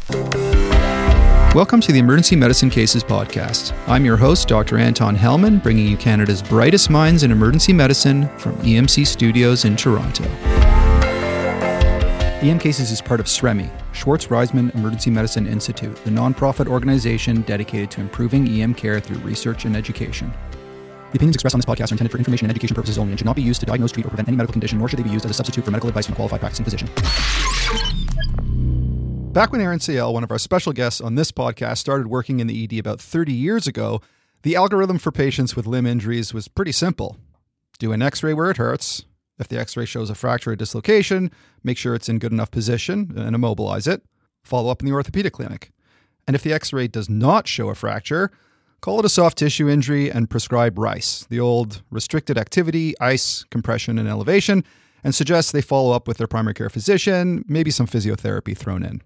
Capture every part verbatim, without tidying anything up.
Welcome to the Emergency Medicine Cases podcast. I'm your host, Doctor Anton Hellman, bringing you Canada's brightest minds in emergency medicine from E M C Studios in Toronto. E M Cases is part of S R E M I, Schwartz Reisman Emergency Medicine Institute, the nonprofit organization dedicated to improving E M care through research and education. The opinions expressed on this podcast are intended for information and education purposes only and should not be used to diagnose, treat, or prevent any medical condition, nor should they be used as a substitute for medical advice from a qualified practicing physician. Back when Aaron Ciel, one of our special guests on this podcast, started working in the E D about thirty years ago, the algorithm for patients with limb injuries was pretty simple. Do an x-ray where it hurts. If the x-ray shows a fracture or dislocation, make sure it's in good enough position and immobilize it. Follow up in the orthopedic clinic. And if the x-ray does not show a fracture, call it a soft tissue injury and prescribe RICE, the old restricted activity, ice, compression, and elevation, and suggest they follow up with their primary care physician, maybe some physiotherapy thrown in.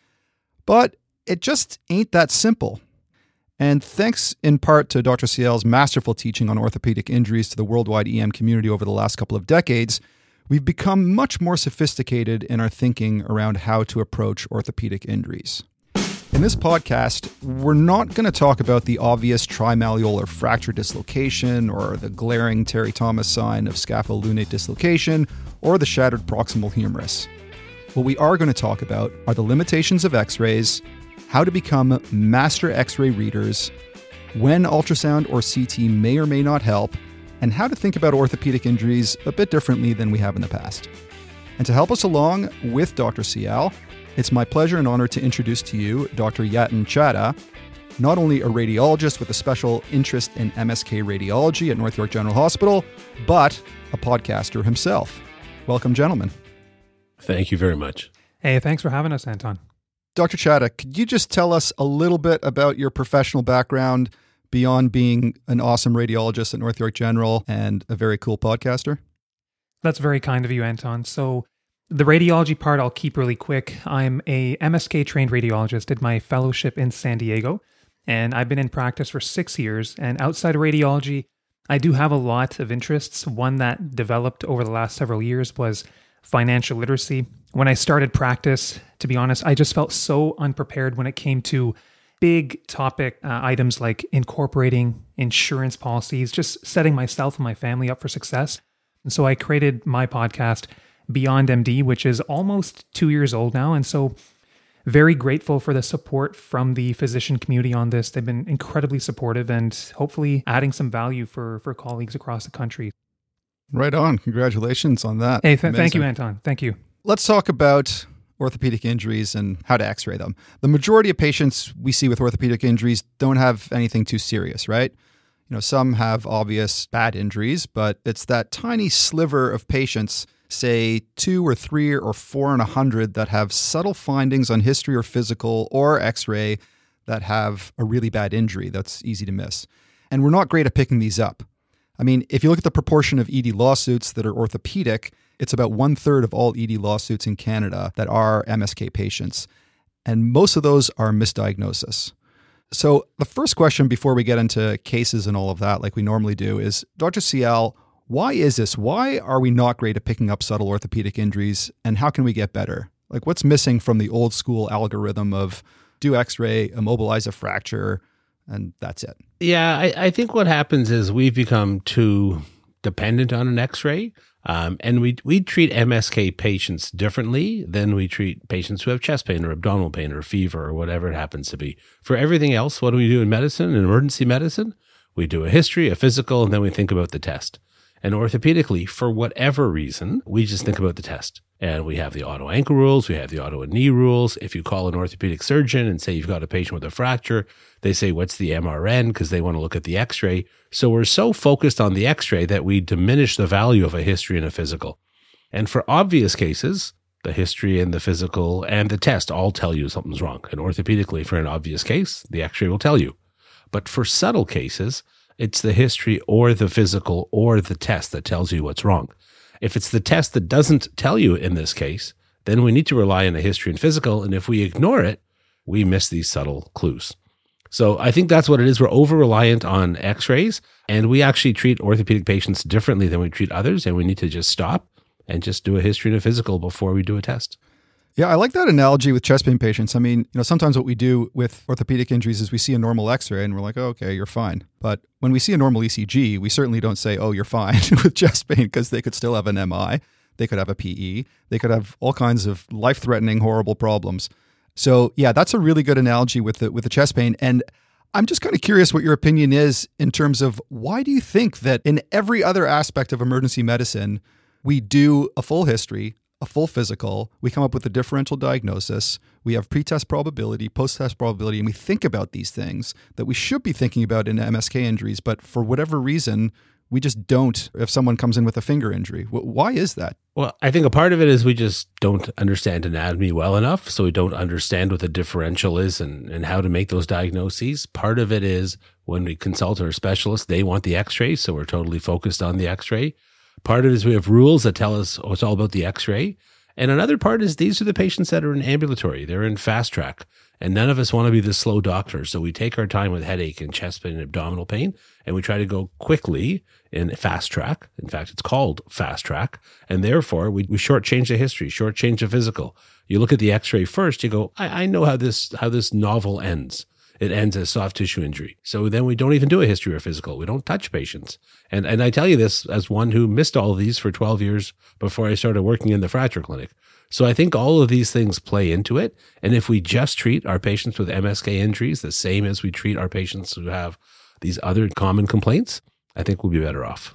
But it just ain't that simple. And thanks in part to Doctor Ciel's masterful teaching on orthopedic injuries to the worldwide E M community over the last couple of decades, we've become much more sophisticated in our thinking around how to approach orthopedic injuries. In this podcast, we're not going to talk about the obvious trimalleolar fracture dislocation or the glaring Terry Thomas sign of scapholunate dislocation or the shattered proximal humerus. What we are going to talk about are the limitations of x-rays, how to become master x-ray readers, when ultrasound or C T may or may not help, and how to think about orthopedic injuries a bit differently than we have in the past. And to help us along with Doctor Ciel, it's my pleasure and honor to introduce to you Doctor Yatin Chadha, not only a radiologist with a special interest in M S K radiology at North York General Hospital, but a podcaster himself. Welcome, gentlemen. Thank you very much. Hey, thanks for having us, Anton. Doctor Chadha, could you just tell us a little bit about your professional background beyond being an awesome radiologist at North York General and a very cool podcaster? That's very kind of you, Anton. So the radiology part I'll keep really quick. I'm a M S K trained radiologist, did my fellowship in San Diego, and I've been in practice for six years. And outside of radiology, I do have a lot of interests. One that developed over the last several years was financial literacy. When I started practice, to be honest, I just felt so unprepared when it came to big topic uh, items like incorporating insurance policies, just setting myself and my family up for success. And so I created my podcast, Beyond M D, which is almost two years old now. And so very grateful for the support from the physician community on this. They've been incredibly supportive and hopefully adding some value for, for colleagues across the country. Right on. Congratulations on that. Hey, th- thank you, Anton. Thank you. Let's talk about orthopedic injuries and how to x-ray them. The majority of patients we see with orthopedic injuries don't have anything too serious, right? You know, some have obvious bad injuries, but it's that tiny sliver of patients, say two or three or four in a hundred, that have subtle findings on history or physical or x-ray that have a really bad injury that's easy to miss. And we're not great at picking these up. I mean, if you look at the proportion of E D lawsuits that are orthopedic, it's about one third of all E D lawsuits in Canada that are M S K patients. And most of those are misdiagnosis. So the first question before we get into cases and all of that, like we normally do, is, Doctor Ciel, why is this? Why are we not great at picking up subtle orthopedic injuries? And how can we get better? Like, what's missing from the old school algorithm of do x-ray, immobilize a fracture, and that's it? Yeah, I, I think what happens is we've become too dependent on an x-ray. Um, and we we treat M S K patients differently than we treat patients who have chest pain or abdominal pain or fever or whatever it happens to be. For everything else, what do we do in medicine, in emergency medicine? We do a history, a physical, and then we think about the test. And orthopedically, for whatever reason, we just think about the test. And we have the auto ankle rules, we have the auto knee rules. If you call an orthopedic surgeon and say you've got a patient with a fracture, they say, what's the M R N? Because they want to look at the x-ray. So we're so focused on the x-ray that we diminish the value of a history and a physical. And for obvious cases, the history and the physical and the test all tell you something's wrong. And orthopedically, for an obvious case, the x-ray will tell you. But for subtle cases, it's the history or the physical or the test that tells you what's wrong. If it's the test that doesn't tell you in this case, then we need to rely on the history and physical. And if we ignore it, we miss these subtle clues. So I think that's what it is. We're over-reliant on x-rays, and we actually treat orthopedic patients differently than we treat others, and we need to just stop and just do a history and a physical before we do a test. Yeah, I like that analogy with chest pain patients. I mean, you know, sometimes what we do with orthopedic injuries is we see a normal x-ray and we're like, oh, okay, you're fine. But when we see a normal E C G, we certainly don't say, oh, you're fine with chest pain, because they could still have an M I, they could have a P E, they could have all kinds of life-threatening, horrible problems. So yeah, that's a really good analogy with the, with the chest pain. And I'm just kind of curious what your opinion is in terms of why do you think that in every other aspect of emergency medicine, we do a full history, a full physical, we come up with a differential diagnosis, we have pre-test probability, post-test probability, and we think about these things that we should be thinking about in M S K injuries, but for whatever reason, we just don't if someone comes in with a finger injury. Why is that? Well, I think a part of it is we just don't understand anatomy well enough, so we don't understand what the differential is and, and how to make those diagnoses. Part of it is when we consult our specialist, they want the x-ray, so we're totally focused on the x-ray. Part of it is we have rules that tell us, oh, it's all about the x-ray. And another part is these are the patients that are in ambulatory. They're in fast track. And none of us want to be the slow doctor. So we take our time with headache and chest pain and abdominal pain, and we try to go quickly in fast track. In fact, it's called fast track. And therefore, we, we shortchange the history, shortchange the physical. You look at the x-ray first, you go, I, I know how this how this novel ends. It ends as soft tissue injury. So then we don't even do a history or physical. We don't touch patients. And and I tell you this as one who missed all of these for twelve years before I started working in the fracture clinic. So I think all of these things play into it. And if we just treat our patients with M S K injuries the same as we treat our patients who have these other common complaints, I think we'll be better off.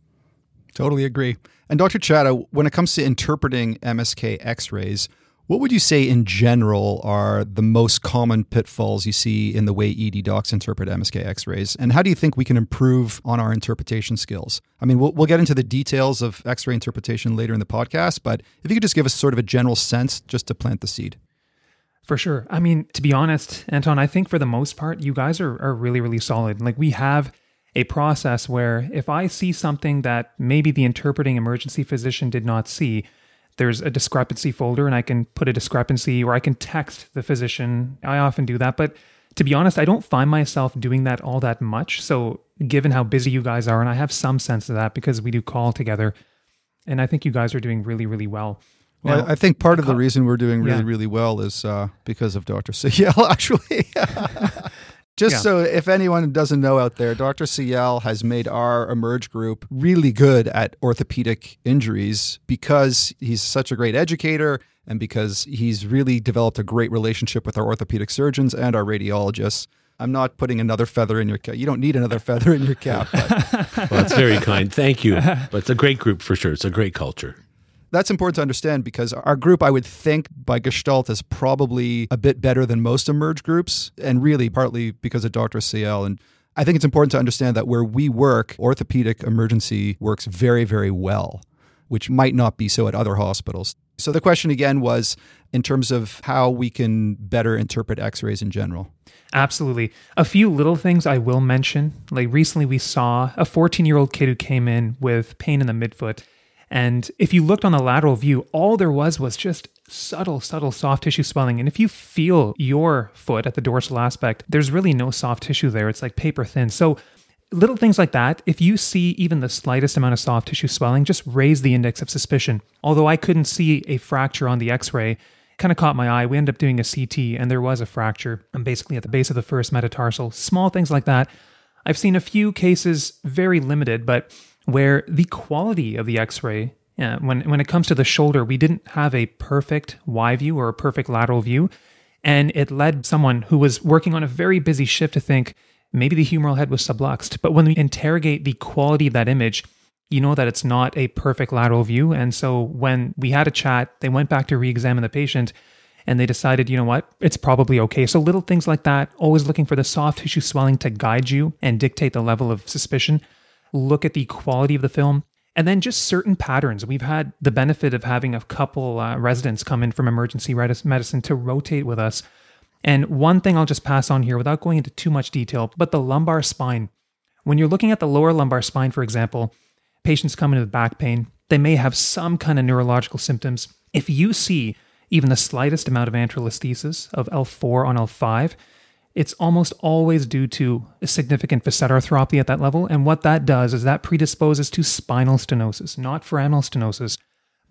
Totally agree. And Doctor Chatta, when it comes to interpreting M S K x-rays, what would you say in general are the most common pitfalls you see in the way E D docs interpret M S K x-rays? And how do you think we can improve on our interpretation skills? I mean, we'll, we'll get into the details of x-ray interpretation later in the podcast, but if you could just give us sort of a general sense just to plant the seed. For sure. I mean, to be honest, Anton, I think for the most part, you guys are, are really, really solid. Like we have a process where if I see something that maybe the interpreting emergency physician did not see, there's a discrepancy folder and I can put a discrepancy or I can text the physician. I often do that. But to be honest, I don't find myself doing that all that much. So given how busy you guys are, and I have some sense of that because we do call together, and I think you guys are doing really, really well. Well, now, I think part of the reason we're doing really, yeah. really well is uh, because of Doctor Ciel, actually. Just yeah. so if anyone doesn't know out there, Doctor Ciel has made our Emerge group really good at orthopedic injuries because he's such a great educator and because he's really developed a great relationship with our orthopedic surgeons and our radiologists. I'm not putting another feather in your cap. You don't need another feather in your cap. But. Well, that's very kind. Thank you. But it's a great group for sure. It's a great culture. That's important to understand because our group, I would think, by Gestalt is probably a bit better than most Emerge groups, and really partly because of Doctor Ciel. And I think it's important to understand that where we work, orthopedic emergency works very, very well, which might not be so at other hospitals. So the question again was in terms of how we can better interpret x-rays in general. Absolutely. A few little things I will mention. Like recently we saw a fourteen-year-old kid who came in with pain in the midfoot. And if you looked on the lateral view, all there was was just subtle, subtle soft tissue swelling. And if you feel your foot at the dorsal aspect, there's really no soft tissue there. It's like paper thin. So little things like that, if you see even the slightest amount of soft tissue swelling, just raise the index of suspicion. Although I couldn't see a fracture on the x-ray, kind of caught my eye. We ended up doing a C T and there was a fracture, and basically at the base of the first metatarsal. Small things like that. I've seen a few cases, very limited, but where the quality of the x-ray, yeah, when, when it comes to the shoulder, we didn't have a perfect Y view or a perfect lateral view. And it led someone who was working on a very busy shift to think maybe the humeral head was subluxed. But when we interrogate the quality of that image, you know that it's not a perfect lateral view. And so when we had a chat, they went back to re-examine the patient and they decided, you know what, it's probably okay. So little things like that, always looking for the soft tissue swelling to guide you and dictate the level of suspicion. Look at the quality of the film, and then just certain patterns. We've had the benefit of having a couple uh, residents come in from emergency medicine to rotate with us. And one thing I'll just pass on here without going into too much detail, but the lumbar spine. When you're looking at the lower lumbar spine, for example, patients come in with back pain. They may have some kind of neurological symptoms. If you see even the slightest amount of antral listhesis of L four on L five, it's almost always due to a significant facet arthropathy at that level. And what that does is that predisposes to spinal stenosis, not foraminal stenosis,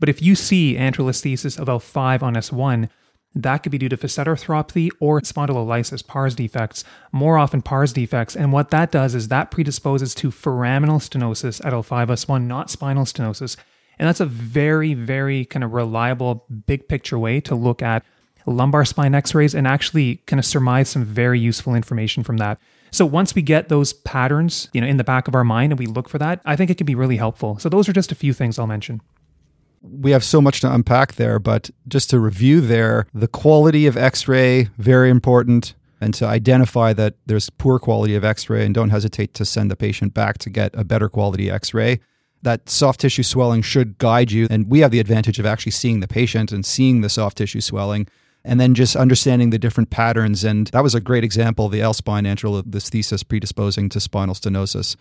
But if you see anterolisthesis of L five on S one, that could be due to facet arthropathy or spondylolysis, P A R S defects, more often P A R S defects. And what that does is that predisposes to foraminal stenosis at L five S one, not spinal stenosis. And that's a very, very kind of reliable, big picture way to look at lumbar spine x-rays and actually kind of surmise some very useful information from that. So once we get those patterns, you know, in the back of our mind and we look for that, I think it can be really helpful. So those are just a few things I'll mention. We have so much to unpack there, but just to review there, the quality of x-ray, very important, and to identify that there's poor quality of x-ray and don't hesitate to send the patient back to get a better quality x-ray. That soft tissue swelling should guide you, and we have the advantage of actually seeing the patient and seeing the soft tissue swelling, and then just understanding the different patterns. And that was a great example of the L-spine anterolisthesis predisposing to spinal stenosis.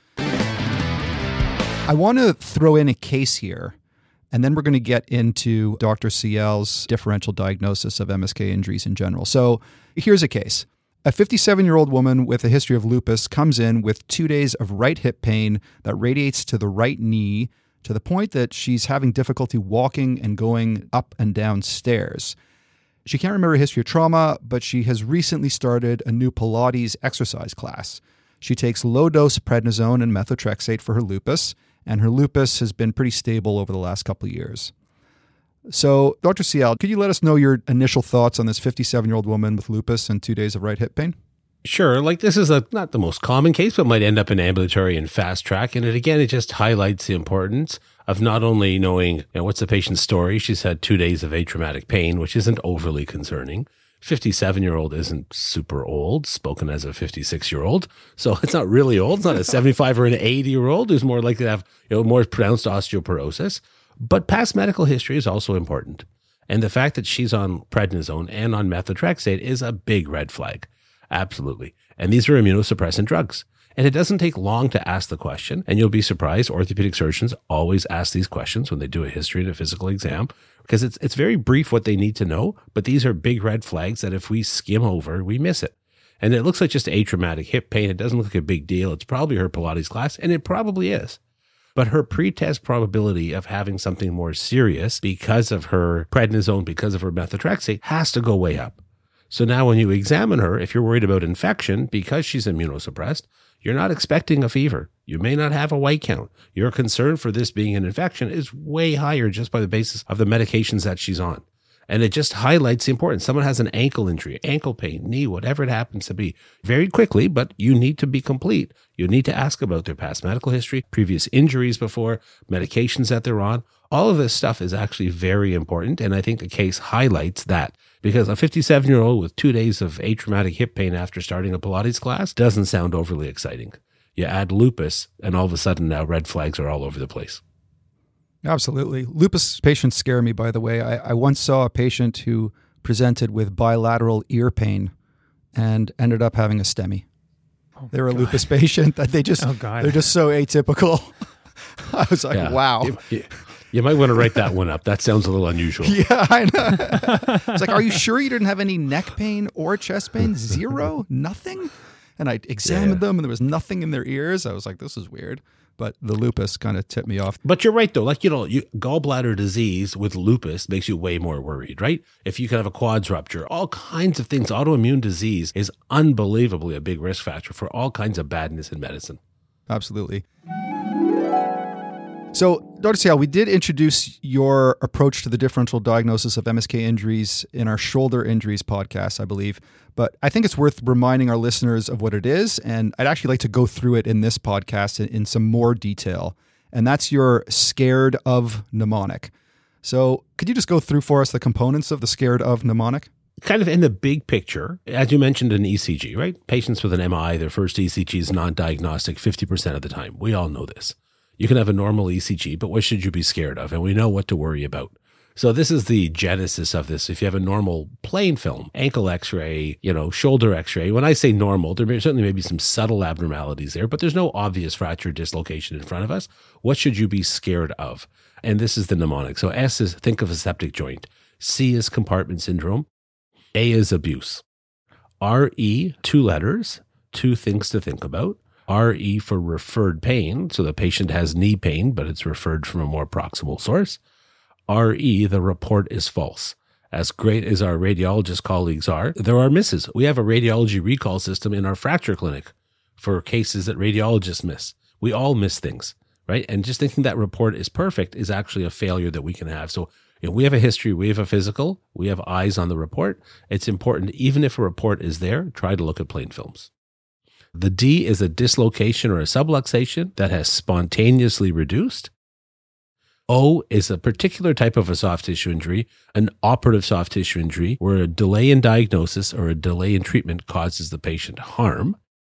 I want to throw in a case here, and then we're going to get into Doctor Ciel's differential diagnosis of M S K injuries in general. So here's a case. A fifty-seven-year-old woman with a history of lupus comes in with two days of right hip pain that radiates to the right knee to the point that she's having difficulty walking and going up and down stairs. She can't remember a history of trauma, but she has recently started a new Pilates exercise class. She takes low-dose prednisone and methotrexate for her lupus, and her lupus has been pretty stable over the last couple of years. So, Doctor Ciel, could you let us know your initial thoughts on this fifty-seven-year-old woman with lupus and two days of right hip pain? Sure. Like this is a not the most common case, but might end up in ambulatory and fast track. And it again, it just highlights the importance of not only knowing, you know, what's the patient's story. She's had two days of atraumatic pain, which isn't overly concerning. fifty-seven-year-old isn't super old, spoken as a fifty-six-year-old. So it's not really old. It's not a seventy-five or an eighty-year-old who's more likely to have, you know, more pronounced osteoporosis. But past medical history is also important. And the fact that she's on prednisone and on methotrexate is a big red flag. Absolutely. And these are immunosuppressant drugs. And it doesn't take long to ask the question. And you'll be surprised, orthopedic surgeons always ask these questions when they do a history and a physical exam, because it's it's very brief what they need to know. But these are big red flags that if we skim over, we miss it. And it looks like just atraumatic hip pain. It doesn't look like a big deal. It's probably her Pilates class, and it probably is. But her pretest probability of having something more serious because of her prednisone, because of her methotrexate, has to go way up. So now when you examine her, if you're worried about infection because she's immunosuppressed, you're not expecting a fever. You may not have a white count. Your concern for this being an infection is way higher just by the basis of the medications that she's on. And it just highlights the importance. Someone has an ankle injury, ankle pain, knee, whatever it happens to be, very quickly, but you need to be complete. You need to ask about their past medical history, previous injuries before, medications that they're on. All of this stuff is actually very important. And I think the case highlights that, because a fifty-seven-year-old with two days of atraumatic hip pain after starting a Pilates class doesn't sound overly exciting. You add lupus, and all of a sudden now red flags are all over the place. Absolutely. Lupus patients scare me, by the way. I, I once saw a patient who presented with bilateral ear pain and ended up having a STEMI. Oh, they were a God. lupus patient that they just, oh, God. they're just so atypical. I was like, yeah. wow. You, you, you might want to write that one up. That sounds a little unusual. Yeah, I know. It's like, are you sure you didn't have any neck pain or chest pain? Zero? Nothing? And I examined yeah. them and there was nothing in their ears. I was like, this is weird. But the lupus kind of tipped me off. But you're right, though. Like, you know, you, gallbladder disease with lupus makes you way more worried, right? If you can have a quads rupture, all kinds of things. Autoimmune disease is unbelievably a big risk factor for all kinds of badness in medicine. Absolutely. So, Doctor Ciel, we did introduce your approach to the differential diagnosis of M S K injuries in our shoulder injuries podcast, I believe. But I think it's worth reminding our listeners of what it is. And I'd actually like to go through it in this podcast in, in some more detail. And that's your scared of mnemonic. So could you just go through for us the components of the scared of mnemonic? Kind of in the big picture, as you mentioned, an E C G, right? Patients with an M I, their first E C G is non-diagnostic fifty percent of the time. We all know this. You can have a normal E C G, but what should you be scared of? And we know what to worry about. So this is the genesis of this. If you have a normal plain film, ankle x-ray, you know, shoulder x-ray, when I say normal, there may, certainly may be some subtle abnormalities there, but there's no obvious fracture dislocation in front of us. What should you be scared of? And this is the mnemonic. So S is think of a septic joint. C is compartment syndrome. A is abuse. R E, two letters, two things to think about. R E for referred pain. So the patient has knee pain, but it's referred from a more proximal source. R E, the report is false. As great as our radiologist colleagues are, there are misses. We have a radiology recall system in our fracture clinic for cases that radiologists miss. We all miss things, right? And just thinking that report is perfect is actually a failure that we can have. So you know, we have a history, we have a physical, we have eyes on the report. It's important, even if a report is there, try to look at plain films. The D is a dislocation or a subluxation that has spontaneously reduced. O is a particular type of a soft tissue injury, an operative soft tissue injury, where a delay in diagnosis or a delay in treatment causes the patient harm.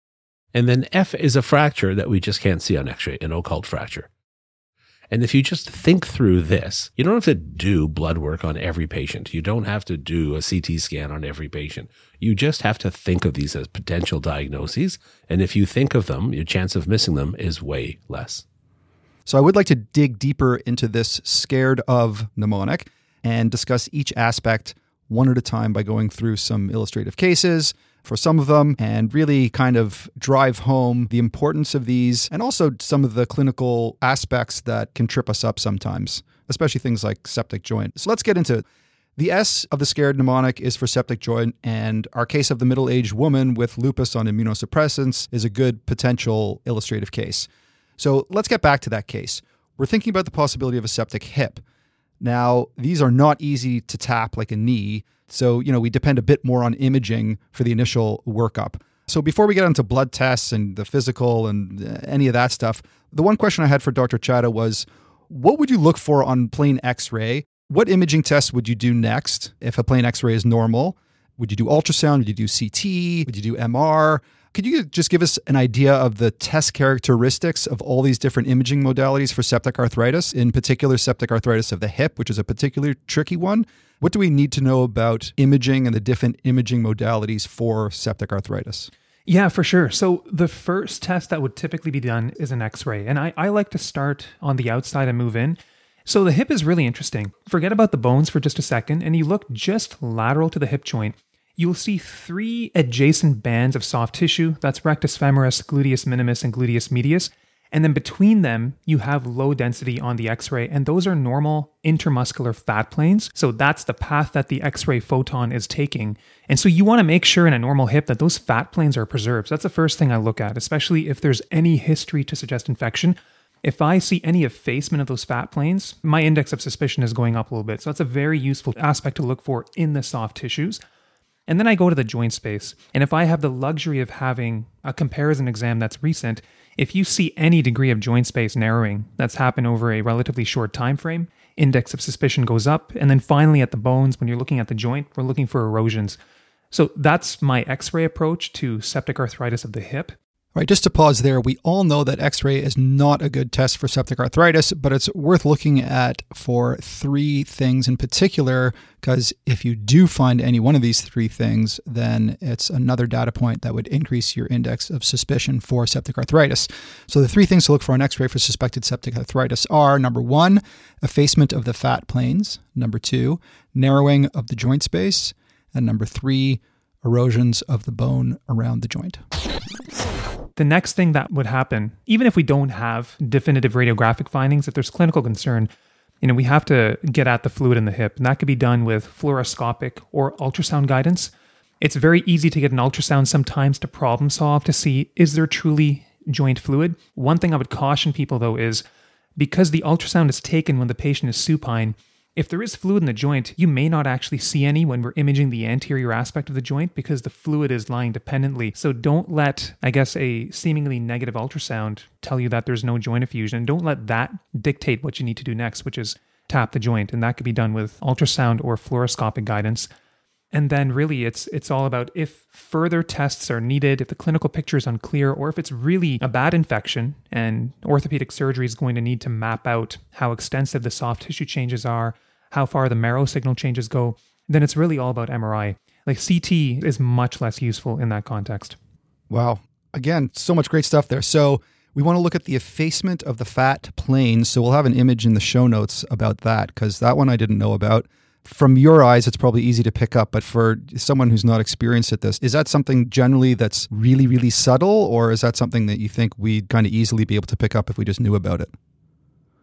And then F is a fracture that we just can't see on x-ray, an occult fracture. And if you just think through this, you don't have to do blood work on every patient. You don't have to do a C T scan on every patient. You just have to think of these as potential diagnoses. And if you think of them, your chance of missing them is way less. So I would like to dig deeper into this scared of mnemonic and discuss each aspect one at a time by going through some illustrative cases for some of them and really kind of drive home the importance of these and also some of the clinical aspects that can trip us up sometimes, especially things like septic joint. So let's get into it. The S of the scared mnemonic is for septic joint, and our case of the middle-aged woman with lupus on immunosuppressants is a good potential illustrative case. So let's get back to that case. We're thinking about the possibility of a septic hip. Now, these are not easy to tap like a knee, so you know we depend a bit more on imaging for the initial workup. So before we get into blood tests and the physical and any of that stuff, the one question I had for Doctor Chadha was, what would you look for on plain X-ray? What imaging tests would you do next if a plain X-ray is normal? Would you do ultrasound? Would you do C T? Would you do M R? Could you just give us an idea of the test characteristics of all these different imaging modalities for septic arthritis, in particular septic arthritis of the hip, which is a particularly tricky one? What do we need to know about imaging and the different imaging modalities for septic arthritis? Yeah, for sure. So the first test that would typically be done is an X-ray. And I, I like to start on the outside and move in. So the hip is really interesting. Forget about the bones for just a second, and you look just lateral to the hip joint. You'll see three adjacent bands of soft tissue. That's rectus femoris, gluteus minimus, and gluteus medius. And then between them, you have low density on the X-ray, and those are normal intermuscular fat planes. So that's the path that the X-ray photon is taking. And so you want to make sure in a normal hip that those fat planes are preserved. So that's the first thing I look at, especially if there's any history to suggest infection. If I see any effacement of those fat planes, my index of suspicion is going up a little bit. So that's a very useful aspect to look for in the soft tissues. And then I go to the joint space. And if I have the luxury of having a comparison exam that's recent, if you see any degree of joint space narrowing that's happened over a relatively short time frame, index of suspicion goes up. And then finally at the bones, when you're looking at the joint, we're looking for erosions. So that's my X-ray approach to septic arthritis of the hip. All right, just to pause there, we all know that X-ray is not a good test for septic arthritis, but it's worth looking at for three things in particular, because if you do find any one of these three things, then it's another data point that would increase your index of suspicion for septic arthritis. So the three things to look for on X-ray for suspected septic arthritis are, number one, effacement of the fat planes, number two, narrowing of the joint space, and number three, erosions of the bone around the joint. The next thing that would happen, even if we don't have definitive radiographic findings, if there's clinical concern, you know, we have to get at the fluid in the hip, and that could be done with fluoroscopic or ultrasound guidance. It's very easy to get an ultrasound sometimes to problem solve to see, is there truly joint fluid? One thing I would caution people though is, because the ultrasound is taken when the patient is supine, if there is fluid in the joint, you may not actually see any when we're imaging the anterior aspect of the joint because the fluid is lying dependently. So don't let, I guess, a seemingly negative ultrasound tell you that there's no joint effusion. And don't let that dictate what you need to do next, which is tap the joint. And that could be done with ultrasound or fluoroscopic guidance. And then really it's it's all about if further tests are needed, if the clinical picture is unclear, or if it's really a bad infection and orthopedic surgery is going to need to map out how extensive the soft tissue changes are, how far the marrow signal changes go, then it's really all about M R I. Like C T is much less useful in that context. Wow. Again, so much great stuff there. So we want to look at the effacement of the fat planes. So we'll have an image in the show notes about that, because that one I didn't know about. From your eyes, it's probably easy to pick up, but for someone who's not experienced at this, is that something generally that's really, really subtle, or is that something that you think we'd kind of easily be able to pick up if we just knew about it?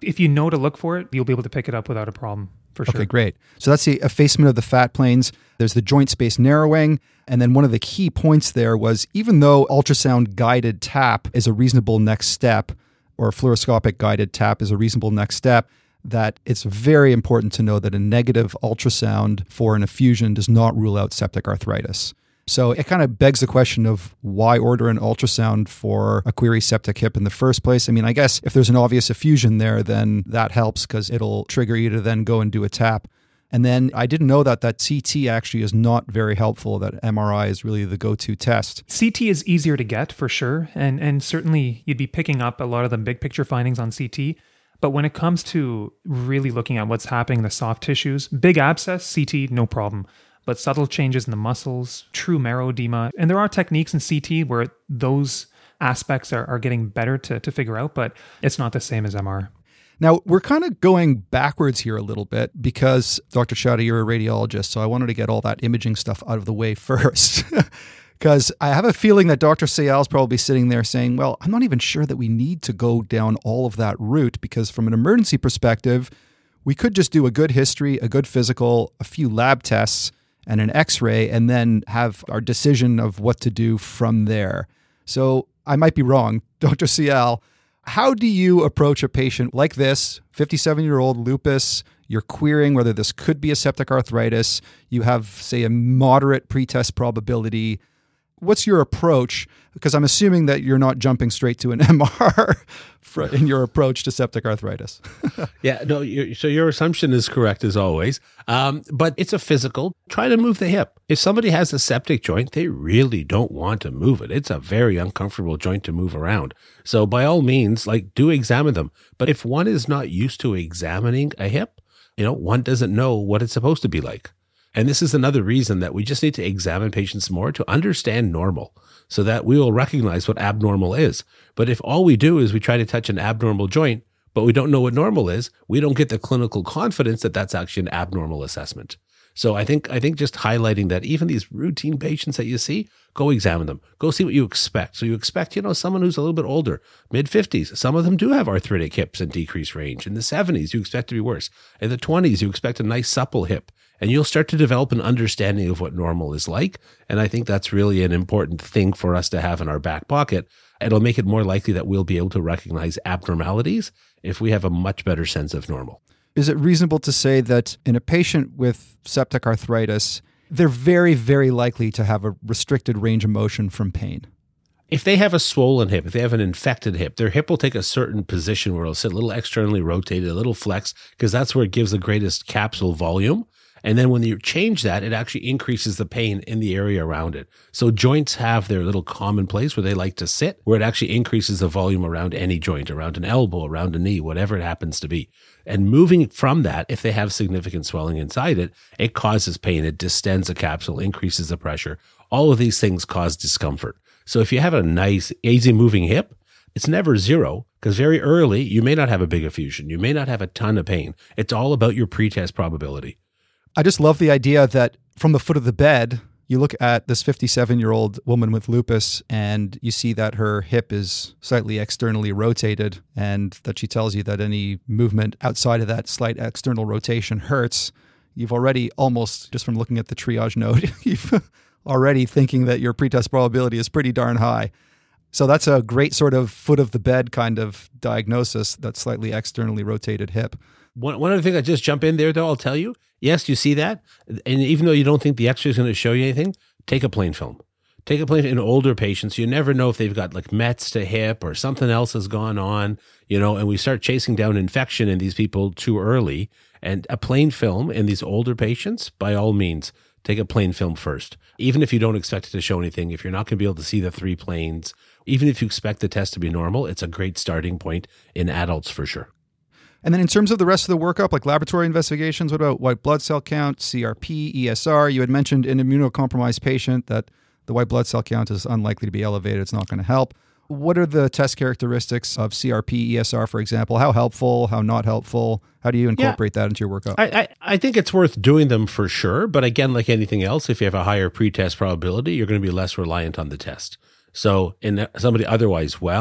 If you know to look for it, you'll be able to pick it up without a problem, for sure. Okay, great. So that's the effacement of the fat planes. There's the joint space narrowing. And then one of the key points there was, even though ultrasound guided tap is a reasonable next step, or fluoroscopic guided tap is a reasonable next step, that it's very important to know that a negative ultrasound for an effusion does not rule out septic arthritis. So it kind of begs the question of why order an ultrasound for a query septic hip in the first place. I mean, I guess if there's an obvious effusion there, then that helps because it'll trigger you to then go and do a tap. And then I didn't know that that C T actually is not very helpful, that M R I is really the go-to test. C T is easier to get for sure. And, and certainly you'd be picking up a lot of the big picture findings on C T. But when it comes to really looking at what's happening in the soft tissues, big abscess, C T, no problem. But subtle changes in the muscles, true marrow edema, and there are techniques in C T where those aspects are, are getting better to, to figure out, but it's not the same as M R. Now, we're kind of going backwards here a little bit because, Doctor Chowda, you're a radiologist, so I wanted to get all that imaging stuff out of the way first. Because I have a feeling that Doctor Sayal is probably sitting there saying, well, I'm not even sure that we need to go down all of that route, because from an emergency perspective, we could just do a good history, a good physical, a few lab tests, and an x-ray, and then have our decision of what to do from there. So I might be wrong. Doctor Sayal, how do you approach a patient like this, fifty-seven-year-old lupus? You're querying whether this could be a septic arthritis. You have, say, a moderate pretest probability. What's your approach? Because I'm assuming that you're not jumping straight to an M R in your approach to septic arthritis. Yeah, no, you, so your assumption is correct as always. Um, but it's a physical. Try to move the hip. If somebody has a septic joint, they really don't want to move it. It's a very uncomfortable joint to move around. So by all means, like, do examine them. But if one is not used to examining a hip, you know, one doesn't know what it's supposed to be like. And this is another reason that we just need to examine patients more to understand normal so that we will recognize what abnormal is. But if all we do is we try to touch an abnormal joint, but we don't know what normal is, we don't get the clinical confidence that that's actually an abnormal assessment. So I think I think just highlighting that even these routine patients that you see, go examine them. Go see what you expect. So you expect, you know, someone who's a little bit older, mid fifties. Some of them do have arthritic hips and decreased range. In the seventies, you expect to be worse. In the twenties, you expect a nice supple hip. And you'll start to develop an understanding of what normal is like. And I think that's really an important thing for us to have in our back pocket. It'll make it more likely that we'll be able to recognize abnormalities if we have a much better sense of normal. Is it reasonable to say that in a patient with septic arthritis, they're very, very likely to have a restricted range of motion from pain? If they have a swollen hip, if they have an infected hip, their hip will take a certain position where it'll sit a little externally rotated, a little flex, because that's where it gives the greatest capsule volume. And then when you change that, it actually increases the pain in the area around it. So joints have their little common place where they like to sit, where it actually increases the volume around any joint, around an elbow, around a knee, whatever it happens to be. And moving from that, if they have significant swelling inside it, it causes pain. It distends the capsule, increases the pressure. All of these things cause discomfort. So if you have a nice, easy moving hip, it's never zero, because very early, you may not have a big effusion. You may not have a ton of pain. It's all about your pretest probability. I just love the idea that from the foot of the bed, you look at this fifty-seven-year-old woman with lupus and you see that her hip is slightly externally rotated and that she tells you that any movement outside of that slight external rotation hurts. You've already almost, just from looking at the triage note, you've already thinking that your pretest probability is pretty darn high. So that's a great sort of foot of the bed kind of diagnosis, that slightly externally rotated hip. One, one other thing I just jump in there, though, I'll tell you. Yes, you see that. And even though you don't think the x-ray is going to show you anything, take a plain film. Take a plain in older patients. You never know if they've got like Mets to hip or something else has gone on, you know, and we start chasing down infection in these people too early. And a plain film in these older patients, by all means, take a plain film first. Even if you don't expect it to show anything, if you're not going to be able to see the three planes, even if you expect the test to be normal, it's a great starting point in adults for sure. And then in terms of the rest of the workup, like laboratory investigations, what about white blood cell count, C R P, E S R? You had mentioned in an immunocompromised patient that the white blood cell count is unlikely to be elevated. It's not going to help. What are the test characteristics of C R P, E S R, for example? How helpful, how not helpful? How do you incorporate yeah. that into your workup? I, I, I think it's worth doing them for sure. But again, like anything else, if you have a higher pretest probability, you're going to be less reliant on the test. So in somebody otherwise well,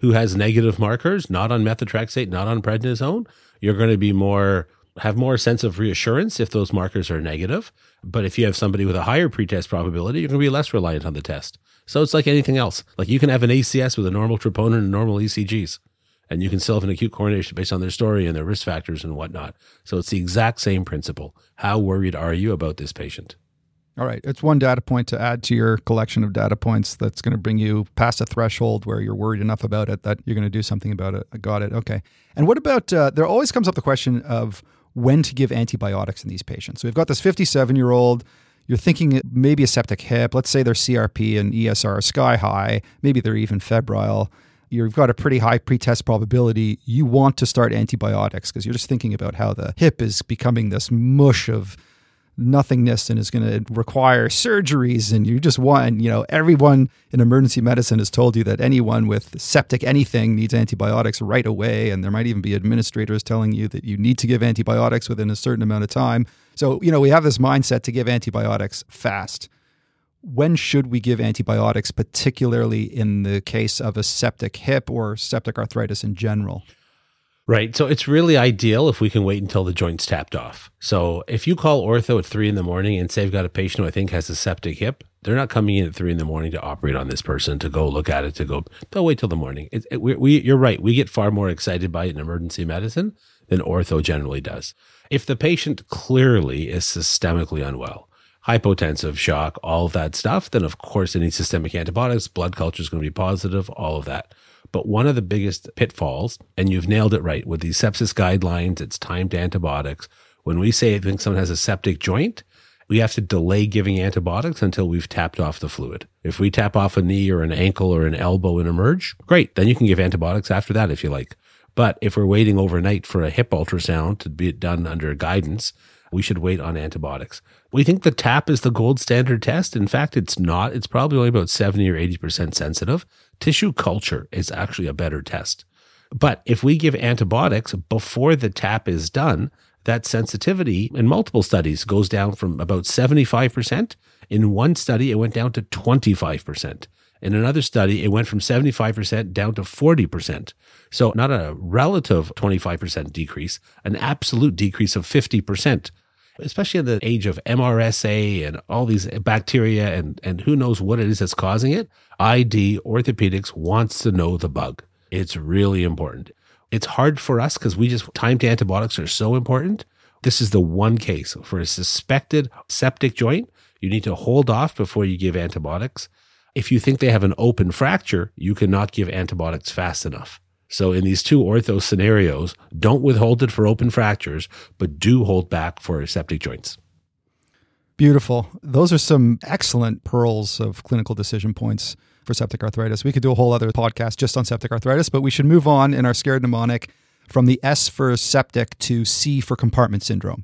who has negative markers, not on methotrexate, not on prednisone, you're going to be more, have more sense of reassurance if those markers are negative. But if you have somebody with a higher pretest probability, you're going to be less reliant on the test. So it's like anything else. Like you can have an A C S with a normal troponin and normal E C Gs, and you can still have an acute coronation based on their story and their risk factors and whatnot. So it's the exact same principle. How worried are you about this patient? All right. It's one data point to add to your collection of data points that's going to bring you past a threshold where you're worried enough about it that you're going to do something about it. I got it. Okay. And what about, uh, there always comes up the question of when to give antibiotics in these patients. So we've got this fifty-seven-year-old, you're thinking maybe a septic hip. Let's say their C R P and E S R are sky high. Maybe they're even febrile. You've got a pretty high pretest probability. You want to start antibiotics because you're just thinking about how the hip is becoming this mush of nothingness and is going to require surgeries. And you just want, you know, everyone in emergency medicine has told you that anyone with septic anything needs antibiotics right away. And there might even be administrators telling you that you need to give antibiotics within a certain amount of time. So, you know, we have this mindset to give antibiotics fast. When should we give antibiotics, particularly in the case of a septic hip or septic arthritis in general? Right. So it's really ideal if we can wait until the joint's tapped off. So if you call ortho at three in the morning and say, I've got a patient who I think has a septic hip, they're not coming in at three in the morning to operate on this person, to go look at it, to go, they'll wait till the morning. It, it, we, we, you're right. We get far more excited by it in emergency medicine than ortho generally does. If the patient clearly is systemically unwell, hypotensive, shock, all of that stuff, then of course any systemic antibiotics, blood culture is going to be positive, all of that. But one of the biggest pitfalls, and you've nailed it right, with these sepsis guidelines, it's timed antibiotics. When we say I think someone has a septic joint, we have to delay giving antibiotics until we've tapped off the fluid. If we tap off a knee or an ankle or an elbow and emerge, great. Then you can give antibiotics after that if you like. But if we're waiting overnight for a hip ultrasound to be done under guidance, we should wait on antibiotics. We think the TAP is the gold standard test. In fact, it's not. It's probably only about seventy or eighty percent sensitive. Tissue culture is actually a better test. But if we give antibiotics before the TAP is done, that sensitivity in multiple studies goes down from about seventy-five percent. In one study, it went down to twenty-five percent. In another study, it went from seventy-five percent down to forty percent. So not a relative twenty-five percent decrease, an absolute decrease of fifty percent. Especially in the age of M R S A and all these bacteria and, and who knows what it is that's causing it, I D Orthopedics wants to know the bug. It's really important. It's hard for us because we just, timed antibiotics are so important. This is the one case for a suspected septic joint. You need to hold off before you give antibiotics. If you think they have an open fracture, you cannot give antibiotics fast enough. So in these two ortho scenarios, don't withhold it for open fractures, but do hold back for septic joints. Beautiful. Those are some excellent pearls of clinical decision points for septic arthritis. We could do a whole other podcast just on septic arthritis, but we should move on in our scared mnemonic from the S for septic to C for compartment syndrome.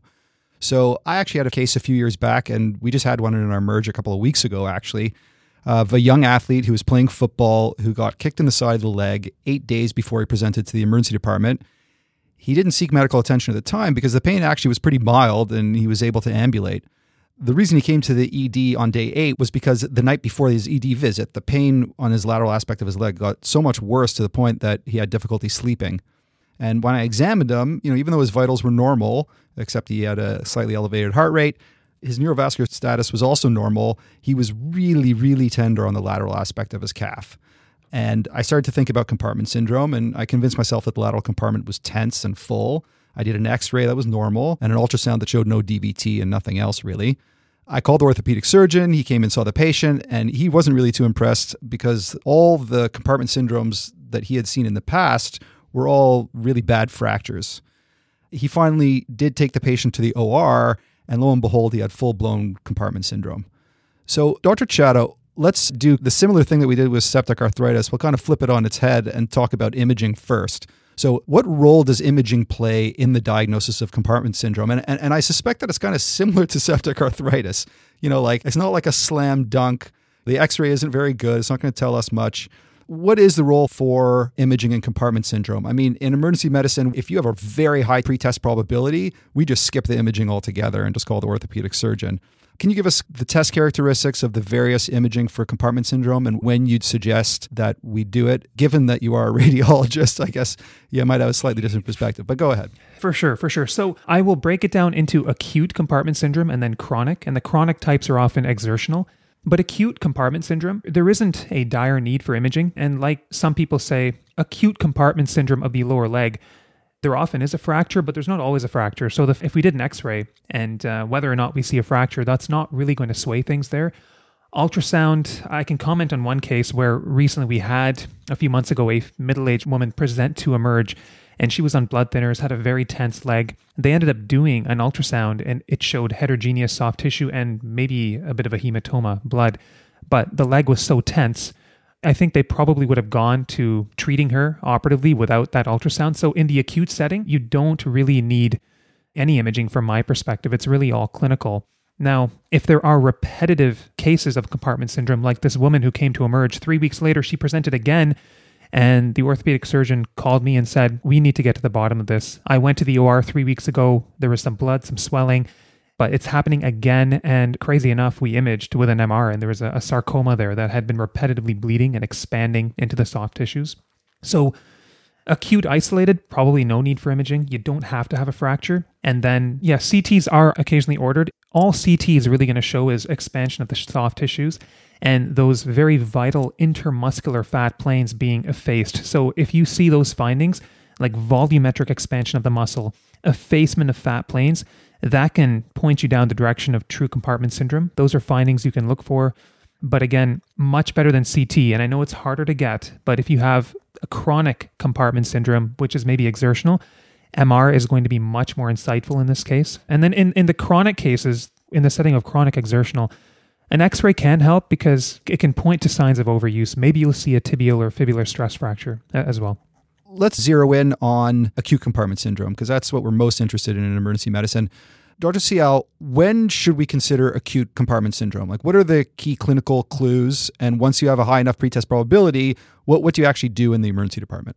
So I actually had a case a few years back, and we just had one in our merge a couple of weeks ago, actually, of a young athlete who was playing football who got kicked in the side of the leg eight days before he presented to the emergency department. He didn't seek medical attention at the time because the pain actually was pretty mild and he was able to ambulate. The reason he came to the E D on day eight was because the night before his E D visit, the pain on his lateral aspect of his leg got so much worse to the point that he had difficulty sleeping. And when I examined him, you know, even though his vitals were normal, except he had a slightly elevated heart rate, his neurovascular status was also normal. He was really, really tender on the lateral aspect of his calf. And I started to think about compartment syndrome, and I convinced myself that the lateral compartment was tense and full. I did an x-ray that was normal and an ultrasound that showed no D V T and nothing else really. I called the orthopedic surgeon. He came and saw the patient, and he wasn't really too impressed because all the compartment syndromes that he had seen in the past were all really bad fractures. He finally did take the patient to the O R, and lo and behold, he had full-blown compartment syndrome. So, Doctor Chatto, let's do the similar thing that we did with septic arthritis. We'll kind of flip it on its head and talk about imaging first. So what role does imaging play in the diagnosis of compartment syndrome? And, and, and I suspect that it's kind of similar to septic arthritis. You know, like it's not like a slam dunk. The x-ray isn't very good. It's not going to tell us much. What is the role for imaging in compartment syndrome? I mean, in emergency medicine, if you have a very high pretest probability, we just skip the imaging altogether and just call the orthopedic surgeon. Can you give us the test characteristics of the various imaging for compartment syndrome and when you'd suggest that we do it? Given that you are a radiologist, I guess you might have a slightly different perspective, but go ahead. For sure, for sure. So I will break it down into acute compartment syndrome and then chronic, and the chronic types are often exertional. But acute compartment syndrome, there isn't a dire need for imaging. And like some people say, acute compartment syndrome of the lower leg, there often is a fracture, but there's not always a fracture. So the, if we did an x-ray and uh, whether or not we see a fracture, that's not really going to sway things there. Ultrasound, I can comment on one case where recently we had, a few months ago, a middle-aged woman present to Emerge, and she was on blood thinners, had a very tense leg. They ended up doing an ultrasound, and it showed heterogeneous soft tissue and maybe a bit of a hematoma, blood. But the leg was so tense, I think they probably would have gone to treating her operatively without that ultrasound. So in the acute setting, you don't really need any imaging from my perspective. It's really all clinical. Now, if there are repetitive cases of compartment syndrome, like this woman who came to Emerge, three weeks later, she presented again, and the orthopedic surgeon called me and said, we need to get to the bottom of this. I went to the O R three weeks ago. There was some blood, some swelling, but it's happening again. And crazy enough, we imaged with an M R and there was a, a sarcoma there that had been repetitively bleeding and expanding into the soft tissues. So acute isolated, probably no need for imaging. You don't have to have a fracture. And then, yeah, C Ts are occasionally ordered. All C T is really going to show is expansion of the soft tissues and those very vital intermuscular fat planes being effaced. So if you see those findings, like volumetric expansion of the muscle, effacement of fat planes, that can point you down the direction of true compartment syndrome. Those are findings you can look for. But again, much better than C T. And I know it's harder to get, but if you have a chronic compartment syndrome, which is maybe exertional, M R is going to be much more insightful in this case. And then in, in the chronic cases, in the setting of chronic exertional, an X-ray can help because it can point to signs of overuse. Maybe you'll see a tibial or fibular stress fracture as well. Let's zero in on acute compartment syndrome because that's what we're most interested in in emergency medicine. Doctor Sial, when should we consider acute compartment syndrome? Like, what are the key clinical clues? And once you have a high enough pretest probability, what, what do you actually do in the emergency department?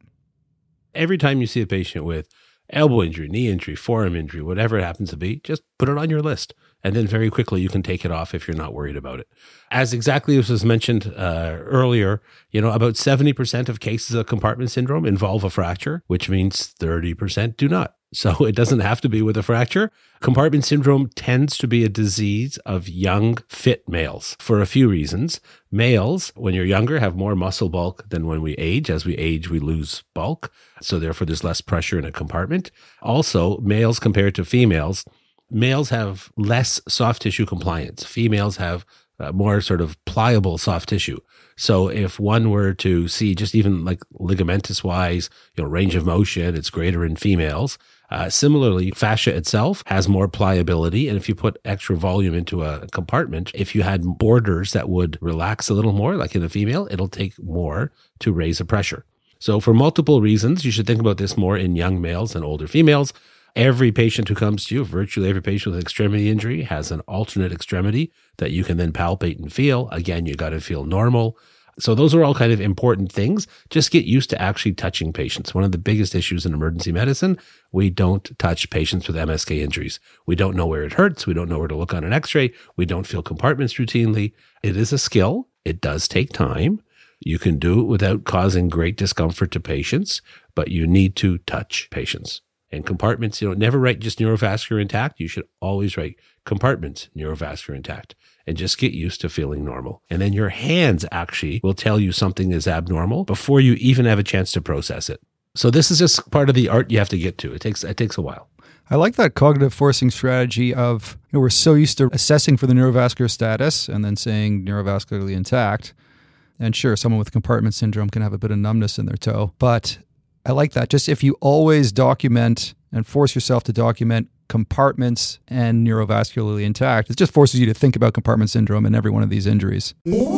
Every time you see a patient with elbow injury, knee injury, forearm injury, whatever it happens to be, just put it on your list. And then very quickly you can take it off if you're not worried about it. As exactly as was mentioned uh, earlier, you know, about seventy percent of cases of compartment syndrome involve a fracture, which means thirty percent do not. So it doesn't have to be with a fracture. Compartment syndrome tends to be a disease of young, fit males for a few reasons. Males, when you're younger, have more muscle bulk than when we age. As we age, we lose bulk. So therefore, there's less pressure in a compartment. Also, males compared to females, males have less soft tissue compliance. Females have uh, more sort of pliable soft tissue. So if one were to see just even like ligamentous wise, you know, range of motion, it's greater in females. Uh, similarly, fascia itself has more pliability. And if you put extra volume into a compartment, if you had borders that would relax a little more, like in a female, it'll take more to raise the pressure. So for multiple reasons, you should think about this more in young males than older females. Every patient who comes to you, virtually every patient with extremity injury has an alternate extremity that you can then palpate and feel. Again, you got to feel normal. So those are all kind of important things. Just get used to actually touching patients. One of the biggest issues in emergency medicine, we don't touch patients with M S K injuries. We don't know where it hurts. We don't know where to look on an x-ray. We don't feel compartments routinely. It is a skill. It does take time. You can do it without causing great discomfort to patients, but you need to touch patients. And compartments, you know, never write just neurovascular intact. You should always write compartments neurovascular intact and just get used to feeling normal. And then your hands actually will tell you something is abnormal before you even have a chance to process it. So this is just part of the art you have to get to. It takes, it takes a while. I like that cognitive forcing strategy of, you know, we're so used to assessing for the neurovascular status and then saying neurovascularly intact. And sure, someone with compartment syndrome can have a bit of numbness in their toe, but I like that. Just if you always document and force yourself to document compartments and neurovascularly intact, it just forces you to think about compartment syndrome in every one of these injuries.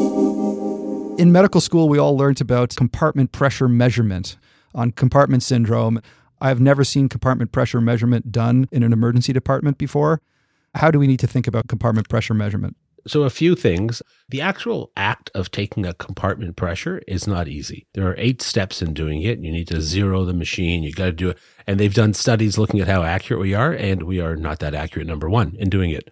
In medical school, we all learned about compartment pressure measurement on compartment syndrome. I've never seen compartment pressure measurement done in an emergency department before. How do we need to think about compartment pressure measurement? So a few things. The actual act of taking a compartment pressure is not easy. There are eight steps in doing it. You need to zero the machine. You got to do it. And they've done studies looking at how accurate we are, and we are not that accurate, number one, in doing it.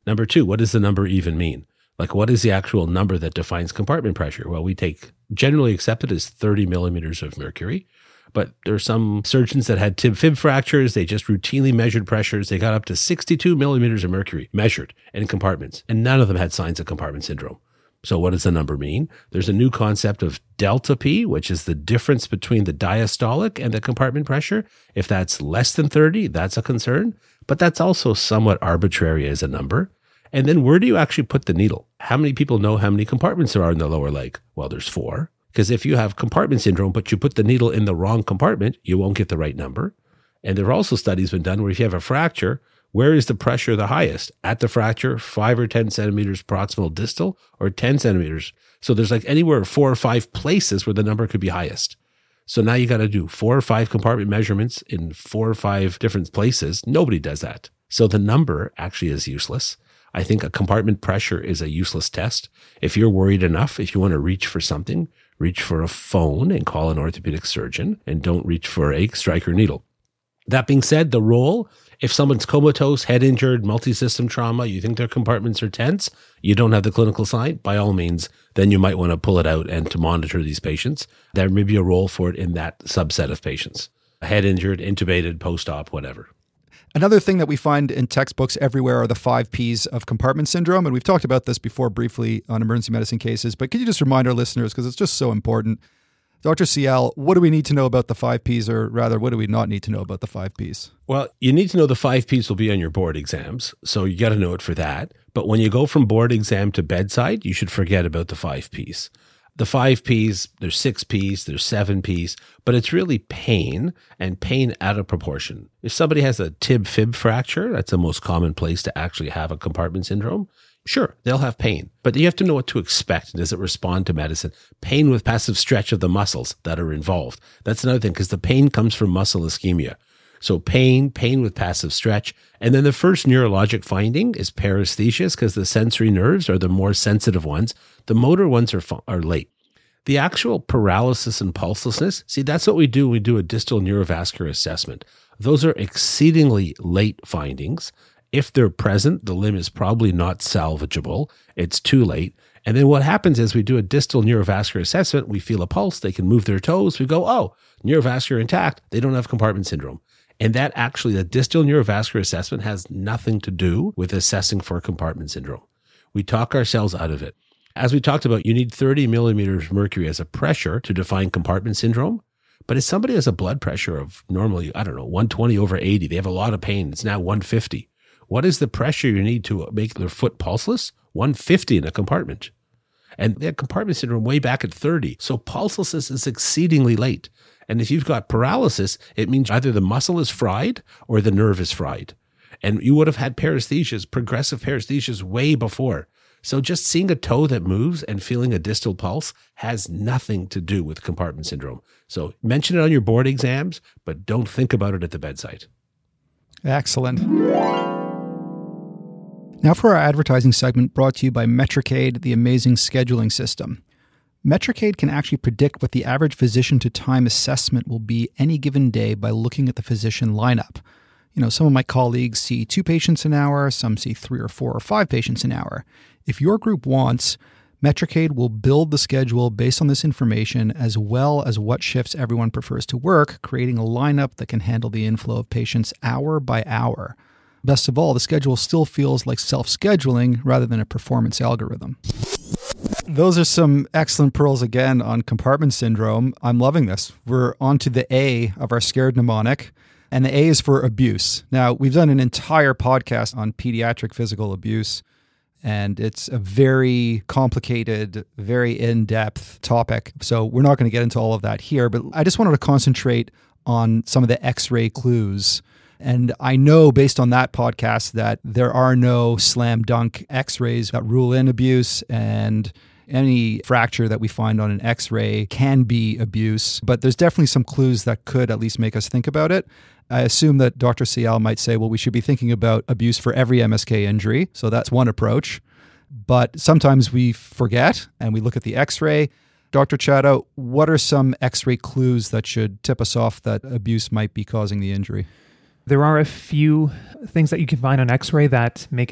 Number two, what does the number even mean? Like, what is the actual number that defines compartment pressure? Well, we take generally accepted as thirty millimeters of mercury, but there are some surgeons that had tib-fib fractures. They just routinely measured pressures. They got up to sixty-two millimeters of mercury measured in compartments, and none of them had signs of compartment syndrome. So what does the number mean? There's a new concept of delta P, which is the difference between the diastolic and the compartment pressure. If that's less than thirty, that's a concern, but that's also somewhat arbitrary as a number. And then where do you actually put the needle? How many people know how many compartments there are in the lower leg? Well, there's four. Because if you have compartment syndrome, but you put the needle in the wrong compartment, you won't get the right number. And there are also studies been done where if you have a fracture, where is the pressure the highest? At the fracture, five or ten centimeters proximal distal, or ten centimeters. So there's like anywhere four or five places where the number could be highest. So now you got to do four or five compartment measurements in four or five different places. Nobody does that. So the number actually is useless. I think a compartment pressure is a useless test. If you're worried enough, if you want to reach for something, reach for a phone and call an orthopedic surgeon, and don't reach for a Stryker needle. That being said, the role, if someone's comatose, head injured, multi-system trauma, you think their compartments are tense, you don't have the clinical sign, by all means, then you might want to pull it out and to monitor these patients. There may be a role for it in that subset of patients. Head injured, intubated, post-op, whatever. Another thing that we find in textbooks everywhere are the five Ps of compartment syndrome. And we've talked about this before briefly on emergency medicine cases, but could you just remind our listeners, because it's just so important. Doctor Cial, what do we need to know about the five Ps, or rather, what do we not need to know about the five Ps? Well, you need to know the five Ps will be on your board exams, so you got to know it for that. But when you go from board exam to bedside, you should forget about the five Ps. The five Ps, there's six Ps, there's seven Ps, but it's really pain and pain out of proportion. If somebody has a tib-fib fracture, that's the most common place to actually have a compartment syndrome. Sure, they'll have pain, but you have to know what to expect. Does it respond to medicine? Pain with passive stretch of the muscles that are involved. That's another thing, because the pain comes from muscle ischemia. So pain, pain with passive stretch. And then the first neurologic finding is paresthesias, because the sensory nerves are the more sensitive ones. The motor ones are, are late. The actual paralysis and pulselessness, see, that's what we do. We do a distal neurovascular assessment. Those are exceedingly late findings. If they're present, the limb is probably not salvageable. It's too late. And then what happens is we do a distal neurovascular assessment. We feel a pulse. They can move their toes. We go, oh, neurovascular intact. They don't have compartment syndrome. And that actually, the distal neurovascular assessment has nothing to do with assessing for compartment syndrome. We talk ourselves out of it. As we talked about, you need thirty millimeters mercury as a pressure to define compartment syndrome. But if somebody has a blood pressure of normally, I don't know, one twenty over eighty, they have a lot of pain. It's now one fifty. What is the pressure you need to make their foot pulseless? one fifty in a compartment. And they had compartment syndrome way back at thirty. So pulselessness is exceedingly late. And if you've got paralysis, it means either the muscle is fried or the nerve is fried. And you would have had paresthesias, progressive paresthesias way before. So just seeing a toe that moves and feeling a distal pulse has nothing to do with compartment syndrome. So mention it on your board exams, but don't think about it at the bedside. Excellent. Now for our advertising segment brought to you by Metricade, the amazing scheduling system. Metricade can actually predict what the average physician to time assessment will be any given day by looking at the physician lineup. You know, some of my colleagues see two patients an hour, some see three or four or five patients an hour. If your group wants, Metricade will build the schedule based on this information as well as what shifts everyone prefers to work, creating a lineup that can handle the inflow of patients hour by hour. Best of all, the schedule still feels like self-scheduling rather than a performance algorithm. Those are some excellent pearls again on compartment syndrome. I'm loving this. We're on to the A of our scared mnemonic, and the A is for abuse. Now, we've done an entire podcast on pediatric physical abuse, and it's a very complicated, very in-depth topic. So we're not going to get into all of that here, but I just wanted to concentrate on some of the X-ray clues. And I know based on that podcast that there are no slam dunk X-rays that rule in abuse, and any fracture that we find on an X-ray can be abuse, but there's definitely some clues that could at least make us think about it. I assume that Doctor Cial might say, well, we should be thinking about abuse for every M S K injury. So that's one approach. But sometimes we forget and we look at the X-ray. Doctor Chadha, what are some X-ray clues that should tip us off that abuse might be causing the injury? There are a few things that you can find on X-ray that make it a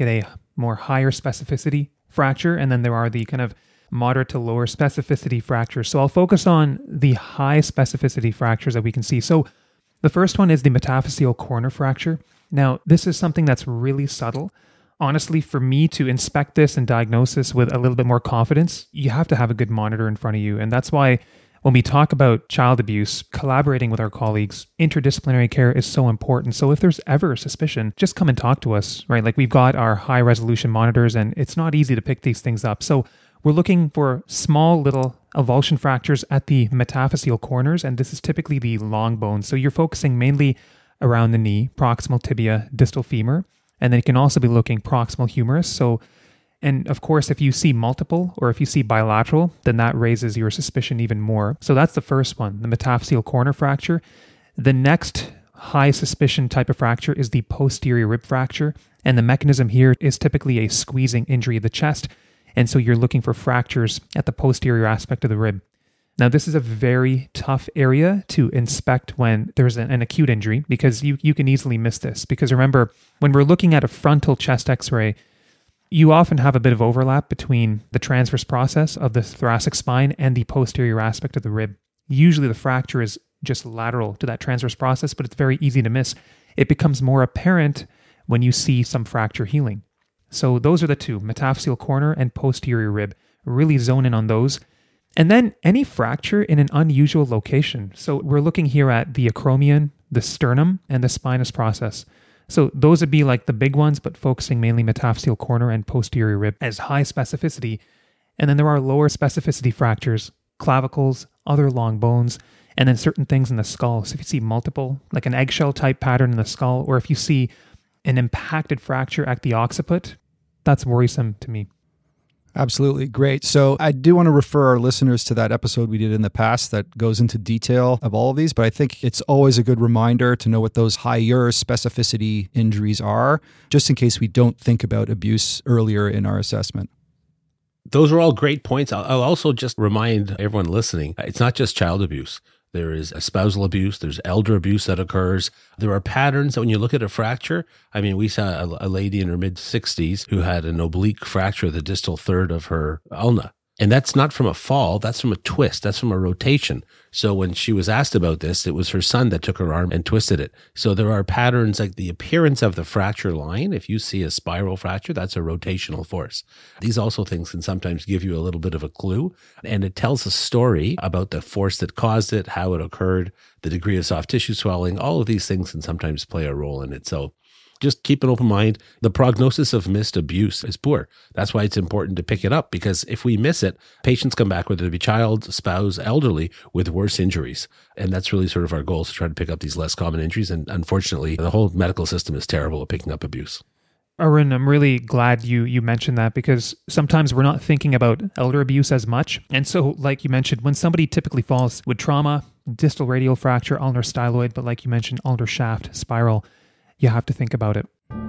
more higher specificity fracture, and then there are the kind of moderate to lower specificity fractures. So I'll focus on the high specificity fractures that we can see. So the first one is the metaphyseal corner fracture. Now, this is something that's really subtle. Honestly, for me to inspect this and diagnose this with a little bit more confidence, you have to have a good monitor in front of you. And that's why when we talk about child abuse, collaborating with our colleagues, interdisciplinary care is so important. So if there's ever a suspicion, just come and talk to us, right? Like we've got our high resolution monitors and it's not easy to pick these things up. So we're looking for small little avulsion fractures at the metaphyseal corners, and this is typically the long bones. So you're focusing mainly around the knee, proximal tibia, distal femur, and then you can also be looking proximal humerus. So, and of course, if you see multiple or if you see bilateral, then that raises your suspicion even more. So that's the first one, the metaphyseal corner fracture. The next high suspicion type of fracture is the posterior rib fracture, and the mechanism here is typically a squeezing injury of the chest. And so you're looking for fractures at the posterior aspect of the rib. Now, this is a very tough area to inspect when there's an, an acute injury because you, you can easily miss this. Because remember, when we're looking at a frontal chest x-ray, you often have a bit of overlap between the transverse process of the thoracic spine and the posterior aspect of the rib. Usually the fracture is just lateral to that transverse process, but it's very easy to miss. It becomes more apparent when you see some fracture healing. So those are the two, metaphyseal corner and posterior rib. Really zone in on those. And then any fracture in an unusual location. So we're looking here at the acromion, the sternum, and the spinous process. So those would be like the big ones, but focusing mainly metaphyseal corner and posterior rib as high specificity. And then there are lower specificity fractures, clavicles, other long bones, and then certain things in the skull. So if you see multiple, like an eggshell type pattern in the skull, or if you see an impacted fracture at the occiput, that's worrisome to me. Absolutely. Great. So I do want to refer our listeners to that episode we did in the past that goes into detail of all of these, but I think it's always a good reminder to know what those higher specificity injuries are, just in case we don't think about abuse earlier in our assessment. Those are all great points. I'll, I'll also just remind everyone listening, it's not just child abuse. There is spousal abuse. There's elder abuse that occurs. There are patterns that when you look at a fracture, I mean, we saw a, a lady in her mid sixties who had an oblique fracture of the distal third of her ulna. And that's not from a fall. That's from a twist. That's from a rotation. So when she was asked about this, it was her son that took her arm and twisted it. So there are patterns like the appearance of the fracture line. If you see a spiral fracture, that's a rotational force. These also things can sometimes give you a little bit of a clue. And it tells a story about the force that caused it, how it occurred, the degree of soft tissue swelling. All of these things can sometimes play a role in it. So just keep an open mind. The prognosis of missed abuse is poor. That's why it's important to pick it up, because if we miss it, patients come back, whether it be child, spouse, elderly, with worse injuries. And that's really sort of our goal, is to try to pick up these less common injuries. And unfortunately, the whole medical system is terrible at picking up abuse. Arun, I'm really glad you you mentioned that, because sometimes we're not thinking about elder abuse as much. And so, like you mentioned, when somebody typically falls with trauma, distal radial fracture, ulnar styloid, but like you mentioned, ulnar shaft, spiral, you have to think about it.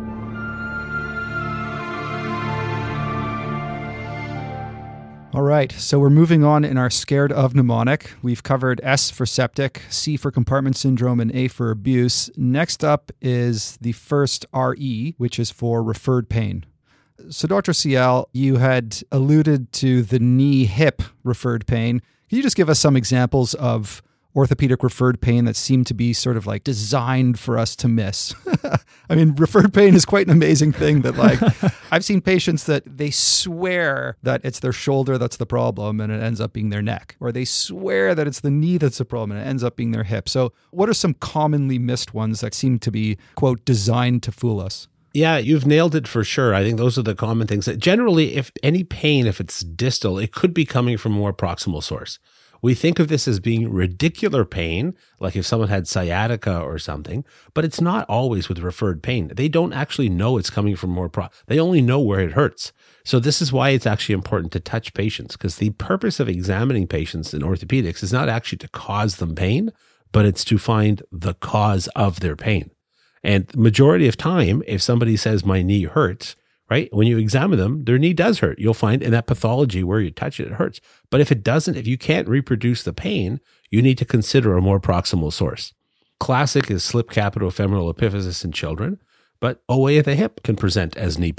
All right, so we're moving on in our scared of mnemonic. We've covered S for septic, C for compartment syndrome, and A for abuse. Next up is the first R E, which is for referred pain. So Doctor Ciel, you had alluded to the knee-hip referred pain. Can you just give us some examples of orthopedic referred pain that seem to be sort of like designed for us to miss? I mean, referred pain is quite an amazing thing that, like, I've seen patients that they swear that it's their shoulder that's the problem and it ends up being their neck, or they swear that it's the knee that's the problem and it ends up being their hip. So what are some commonly missed ones that seem to be, quote, designed to fool us? Yeah, you've nailed it for sure. I think those are the common things. Generally, if any pain, if it's distal, it could be coming from a more proximal source. We think of this as being radicular pain, like if someone had sciatica or something, but it's not always with referred pain. They don't actually know it's coming from more pro. They only know where it hurts. So this is why it's actually important to touch patients, because the purpose of examining patients in orthopedics is not actually to cause them pain, but it's to find the cause of their pain. And the majority of time, if somebody says my knee hurts, right? When you examine them, their knee does hurt. You'll find in that pathology where you touch it, it hurts. But if it doesn't, if you can't reproduce the pain, you need to consider a more proximal source. Classic is slip capitofemoral epiphysis in children, but O A of the hip can present as knee pain.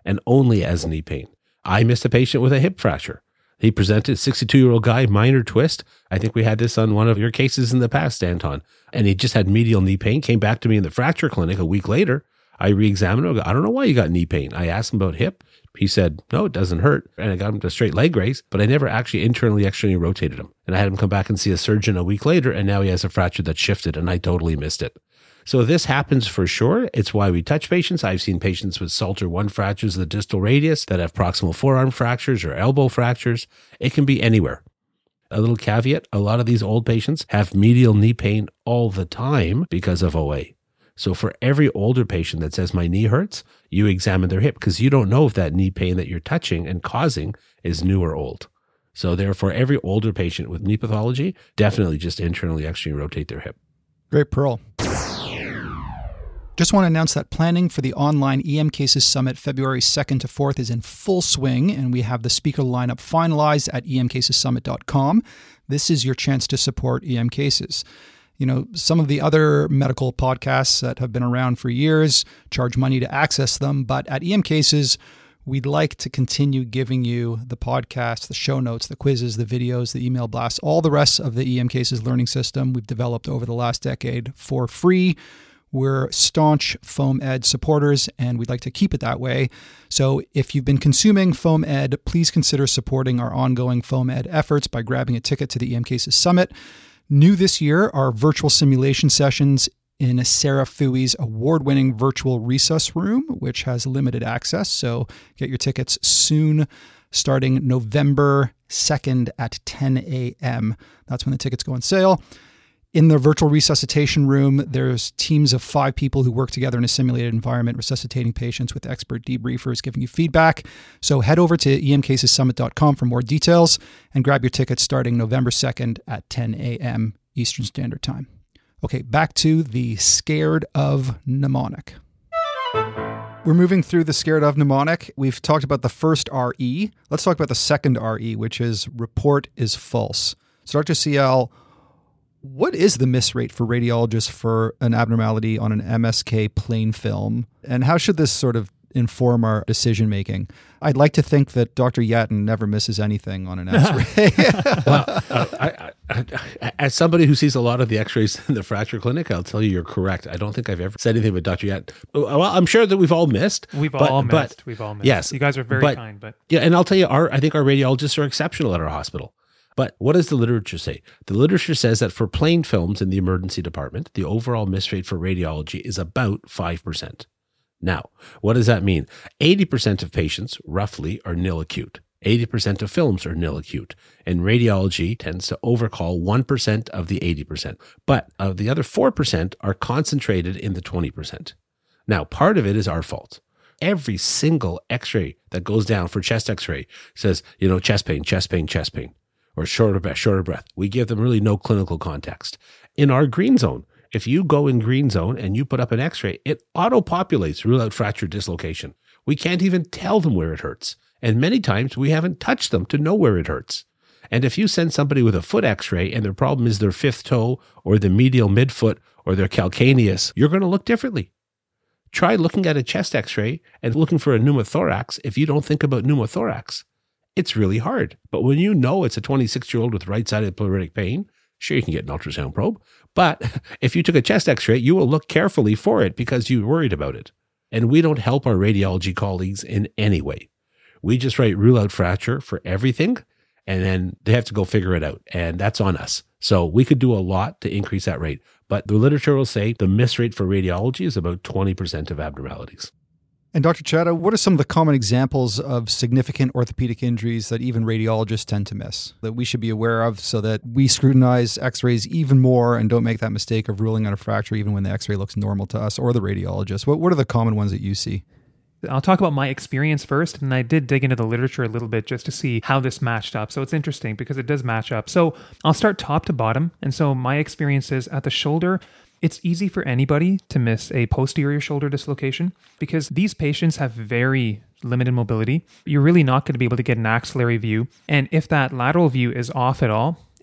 and only as knee pain. I missed a patient with a hip fracture. He presented, sixty-two-year-old guy, minor twist. I think we had this on one of your cases in the past, Anton. And he just had medial knee pain, came back to me in the fracture clinic a week later. I re-examined him. I go, I don't know why you got knee pain. I asked him about hip. He said, no, it doesn't hurt. And I got him to straight leg raise, but I never actually internally, externally rotated him. And I had him come back and see a surgeon a week later, and now he has a fracture that shifted, and I totally missed it. So this happens for sure. It's why we touch patients. I've seen patients with Salter one fractures of the distal radius that have proximal forearm fractures or elbow fractures. It can be anywhere. A little caveat, a lot of these old patients have medial knee pain all the time because of O A. So for every older patient that says my knee hurts, you examine their hip because you don't know if that knee pain that you're touching and causing is new or old. So therefore, every older patient with knee pathology, definitely just internally, externally rotate their hip. Great, Pearl. Just want to announce that planning for the online E M Cases Summit February second to fourth is in full swing, and we have the speaker lineup finalized at e m cases summit dot com. This is your chance to support E M Cases. You know, some of the other medical podcasts that have been around for years charge money to access them, but at E M Cases, we'd like to continue giving you the podcast, the show notes, the quizzes, the videos, the email blasts, all the rest of the E M Cases learning system we've developed over the last decade for free. We're staunch Foam Ed supporters, and we'd like to keep it that way. So if you've been consuming Foam Ed, please consider supporting our ongoing Foam Ed efforts by grabbing a ticket to the E M Cases Summit. New this year are virtual simulation sessions in Sarah Fui's award-winning virtual resus room, which has limited access. So get your tickets soon, starting November second at ten a.m. That's when the tickets go on sale. In the virtual resuscitation room, there's teams of five people who work together in a simulated environment, resuscitating patients with expert debriefers giving you feedback. So head over to e m cases summit dot com for more details and grab your tickets starting November second at ten a.m. Eastern Standard Time. Okay, back to the Scared of Mnemonic. We're moving through the Scared of Mnemonic. We've talked about the first R E. Let's talk about the second R E, which is report is false. So Doctor C L, what is the miss rate for radiologists for an abnormality on an M S K plain film? And how should this sort of inform our decision making? I'd like to think that Doctor Yatton never misses anything on an X-ray. Well, uh, I, I, I, as somebody who sees a lot of the X-rays in the fracture clinic, I'll tell you you're correct. I don't think I've ever said anything about Doctor Yatton. Well, I'm sure that we've all missed. We've but, all missed. But, we've all missed. Yes, you guys are very but, kind. But yeah, and I'll tell you, our I think our radiologists are exceptional at our hospital. But what does the literature say? The literature says that for plain films in the emergency department, the overall miss rate for radiology is about five percent. Now, what does that mean? eighty percent of patients, roughly, are nil acute. eighty percent of films are nil acute. And radiology tends to overcall one percent of the eighty percent. But of the other four percent are concentrated in the twenty percent. Now, part of it is our fault. Every single X-ray that goes down for chest X-ray says, you know, chest pain, chest pain, chest pain. Or shorter breath, shorter breath. We give them really no clinical context. In our green zone, if you go in green zone and you put up an X-ray, it auto-populates rule out fracture dislocation. We can't even tell them where it hurts. And many times we haven't touched them to know where it hurts. And if you send somebody with a foot X-ray and their problem is their fifth toe or the medial midfoot or their calcaneus, you're going to look differently. Try looking at a chest X-ray and looking for a pneumothorax if you don't think about pneumothorax. It's really hard. But when you know it's a twenty-six-year-old with right-sided pleuritic pain, sure, you can get an ultrasound probe. But if you took a chest X-ray, you will look carefully for it because you're worried about it. And we don't help our radiology colleagues in any way. We just write rule out fracture for everything, and then they have to go figure it out. And that's on us. So we could do a lot to increase that rate. But the literature will say the miss rate for radiology is about twenty percent of abnormalities. And Doctor Chadha, what are some of the common examples of significant orthopedic injuries that even radiologists tend to miss that we should be aware of so that we scrutinize X-rays even more and don't make that mistake of ruling out a fracture even when the X-ray looks normal to us or the radiologist? What, what are the common ones that you see? I'll talk about my experience first, and I did dig into the literature a little bit just to see how this matched up. So it's interesting because it does match up. So I'll start top to bottom. And so my experience is at the shoulder, it's easy for anybody to miss a posterior shoulder dislocation because these patients have very limited mobility. You're really not going to be able to get an axillary view. And if that lateral view is off at all,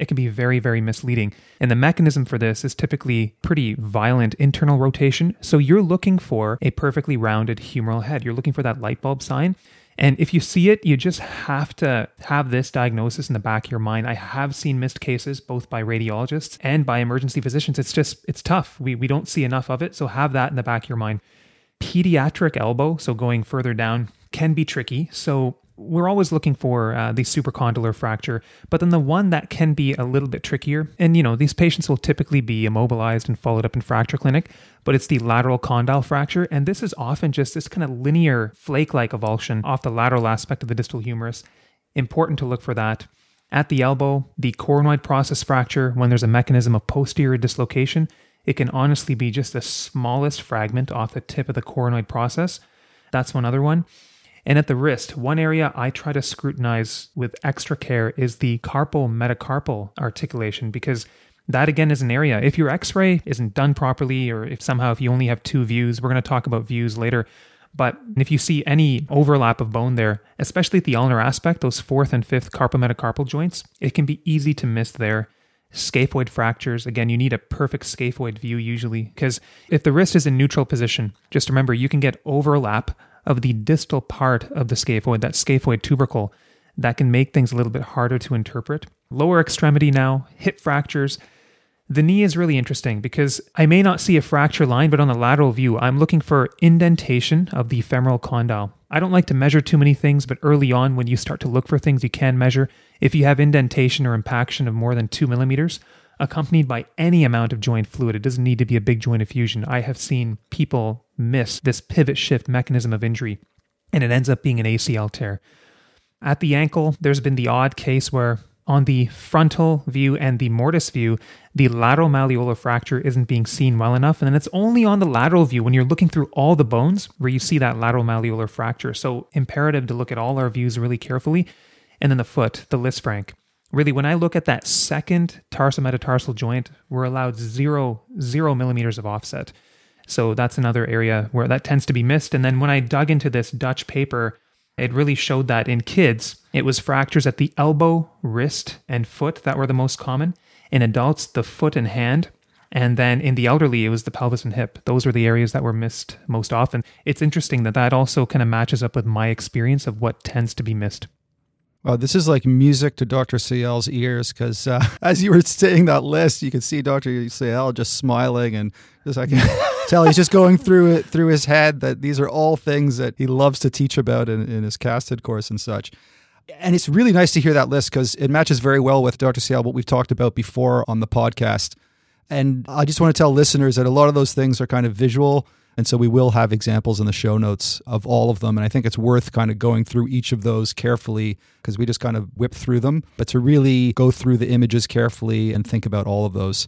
it can be very, very misleading. And the mechanism for this is typically pretty violent internal rotation. So you're looking for a perfectly rounded humeral head. You're looking for that light bulb sign. And if you see it, you just have to have this diagnosis in the back of your mind. I have seen missed cases both by radiologists and by emergency physicians. It's just, it's tough. We we don't see enough of it. So have that in the back of your mind. Pediatric elbow, so going further down, can be tricky. So we're always looking for uh, the supracondylar fracture, but then the one that can be a little bit trickier, and you know, these patients will typically be immobilized and followed up in fracture clinic, but it's the lateral condyle fracture, and this is often just this kind of linear flake-like avulsion off the lateral aspect of the distal humerus. Important to look for that. At the elbow, the coronoid process fracture, when there's a mechanism of posterior dislocation, it can honestly be just the smallest fragment off the tip of the coronoid process. That's one other one. And at the wrist, one area I try to scrutinize with extra care is the carpometacarpal articulation, because that again is an area, if your x-ray isn't done properly, or if somehow if you only have two views, we're going to talk about views later, but if you see any overlap of bone there, especially at the ulnar aspect, those fourth and fifth carpometacarpal joints, it can be easy to miss there. Scaphoid fractures, again, you need a perfect scaphoid view usually, because if the wrist is in neutral position, just remember you can get overlap of the distal part of the scaphoid, that scaphoid tubercle, that can make things a little bit harder to interpret. Lower extremity now, hip fractures. The knee is really interesting because I may not see a fracture line, but on the lateral view, I'm looking for indentation of the femoral condyle. I don't like to measure too many things, but early on when you start to look for things, you can measure. If you have indentation or impaction of more than two millimeters, accompanied by any amount of joint fluid, it doesn't need to be a big joint effusion. I have seen people miss this pivot shift mechanism of injury, and it ends up being an A C L tear. At the ankle, there's been the odd case where on the frontal view and the mortise view, the lateral malleolar fracture isn't being seen well enough. And then it's only on the lateral view when you're looking through all the bones where you see that lateral malleolar fracture. So imperative to look at all our views really carefully. And then the foot, the Lisfranc. Really, when I look at that second tarsometatarsal joint, we're allowed zero, zero millimeters of offset. So that's another area where that tends to be missed. And then when I dug into this Dutch paper, it really showed that in kids, it was fractures at the elbow, wrist, and foot that were the most common. In adults, the foot and hand. And then in the elderly, it was the pelvis and hip. Those were the areas that were missed most often. It's interesting that that also kind of matches up with my experience of what tends to be missed. Well, this is like music to Doctor Sayal's ears, because uh, as you were saying that list, you could see Doctor Sayal just smiling, and just I can tell he's just going through it through his head that these are all things that he loves to teach about in, in his casted course and such. And it's really nice to hear that list because it matches very well with Doctor Sayal, what we've talked about before on the podcast. And I just want to tell listeners that a lot of those things are kind of visual. And so we will have examples in the show notes of all of them. And I think it's worth kind of going through each of those carefully because we just kind of whip through them. But to really go through the images carefully and think about all of those.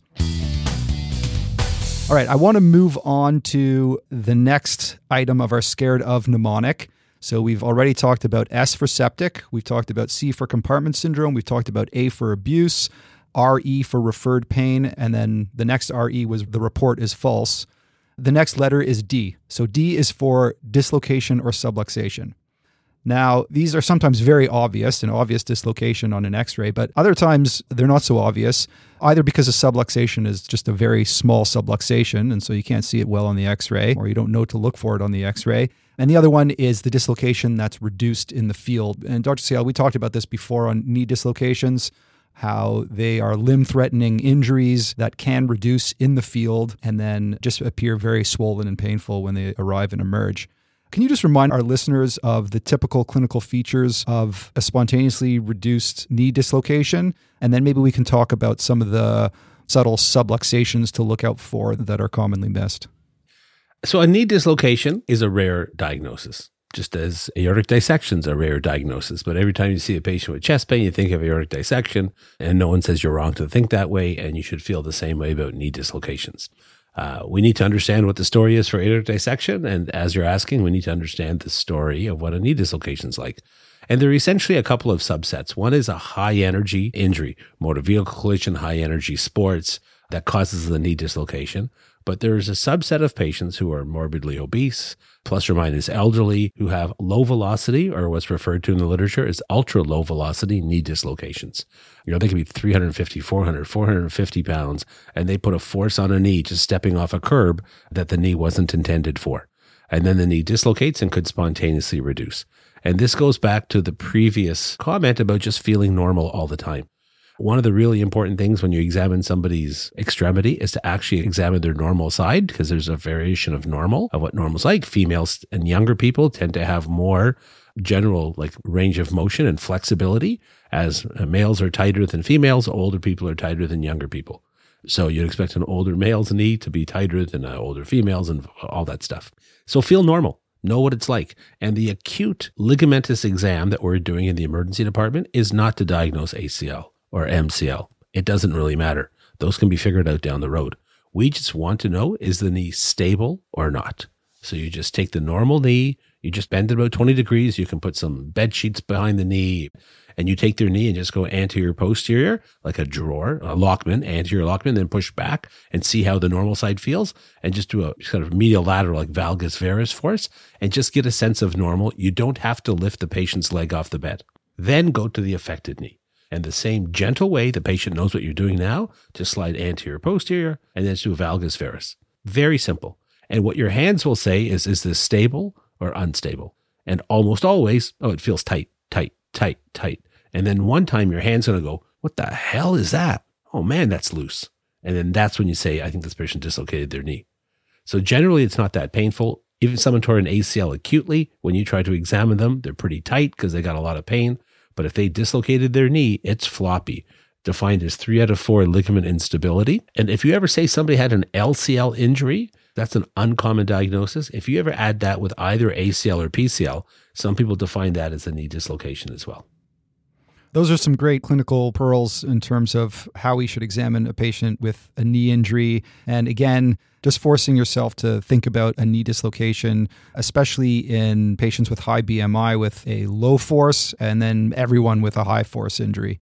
All right, I want to move on to the next item of our scared of mnemonic. So we've already talked about S for septic. We've talked about C for compartment syndrome. We've talked about A for abuse, R E for referred pain. And then the next R E was the report is false. The next letter is D. So D is for dislocation or subluxation. Now, these are sometimes very obvious, an obvious dislocation on an x-ray, but other times they're not so obvious, either because a subluxation is just a very small subluxation, and so you can't see it well on the x-ray, or you don't know to look for it on the x-ray. And the other one is the dislocation that's reduced in the field. And Doctor Sayal, we talked about this before on knee dislocations, how they are limb-threatening injuries that can reduce in the field and then just appear very swollen and painful when they arrive and emerge. Can you just remind our listeners of the typical clinical features of a spontaneously reduced knee dislocation? And then maybe we can talk about some of the subtle subluxations to look out for that are commonly missed. So a knee dislocation is a rare diagnosis. Just as aortic dissection is a rare diagnosis. But every time you see a patient with chest pain, you think of aortic dissection, and no one says you're wrong to think that way, and you should feel the same way about knee dislocations. Uh, we need to understand what the story is for aortic dissection, and as you're asking, we need to understand the story of what a knee dislocation is like. And there are essentially a couple of subsets. One is a high-energy injury, motor vehicle collision, high-energy sports, that causes the knee dislocation. But there's a subset of patients who are morbidly obese, plus or minus elderly, who have low velocity, or what's referred to in the literature as ultra low velocity knee dislocations. You know, they can be three fifty, four hundred, four hundred fifty pounds, and they put a force on a knee just stepping off a curb that the knee wasn't intended for. And then the knee dislocates and could spontaneously reduce. And this goes back to the previous comment about just feeling normal all the time. One of the really important things when you examine somebody's extremity is to actually examine their normal side, because there's a variation of normal, of what normal's like. Females and younger people tend to have more general like range of motion and flexibility, as males are tighter than females, older people are tighter than younger people. So you'd expect an older male's knee to be tighter than an older female's and all that stuff. So feel normal. Know what it's like. And the acute ligamentous exam that we're doing in the emergency department is not to diagnose A C L or M C L. It doesn't really matter. Those can be figured out down the road. We just want to know, is the knee stable or not? So you just take the normal knee, you just bend it about twenty degrees, you can put some bed sheets behind the knee, and you take their knee and just go anterior posterior, like a drawer, a Lockman, anterior Lockman, then push back and see how the normal side feels, and just do a sort of medial lateral, like valgus varus force, and just get a sense of normal. You don't have to lift the patient's leg off the bed. Then go to the affected knee. And the same gentle way the patient knows what you're doing now, just slide anterior posterior, and then do a valgus varus. Very simple. And what your hands will say is, is this stable or unstable? And almost always, oh, it feels tight, tight, tight, tight. And then one time your hand's going to go, what the hell is that? Oh man, that's loose. And then that's when you say, I think this patient dislocated their knee. So generally it's not that painful. Even someone tore an A C L acutely, when you try to examine them, they're pretty tight because they got a lot of pain. But if they dislocated their knee, it's floppy, defined as three out of four ligament instability. And if you ever say somebody had an L C L injury, that's an uncommon diagnosis. If you ever add that with either A C L or P C L, some people define that as a knee dislocation as well. Those are some great clinical pearls in terms of how we should examine a patient with a knee injury. And again, just forcing yourself to think about a knee dislocation, especially in patients with high B M I with a low force, and then everyone with a high force injury.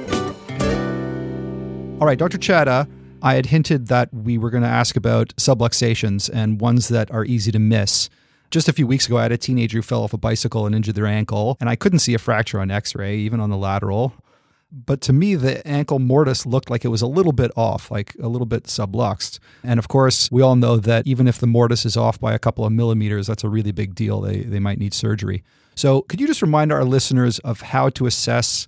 All right, Doctor Chadha, I had hinted that we were going to ask about subluxations and ones that are easy to miss. Just a few weeks ago, I had a teenager who fell off a bicycle and injured their ankle, and I couldn't see a fracture on x-ray, even on the lateral. But to me, the ankle mortise looked like it was a little bit off, like a little bit subluxed. And of course, we all know that even if the mortise is off by a couple of millimeters, that's a really big deal. They, they might need surgery. So could you just remind our listeners of how to assess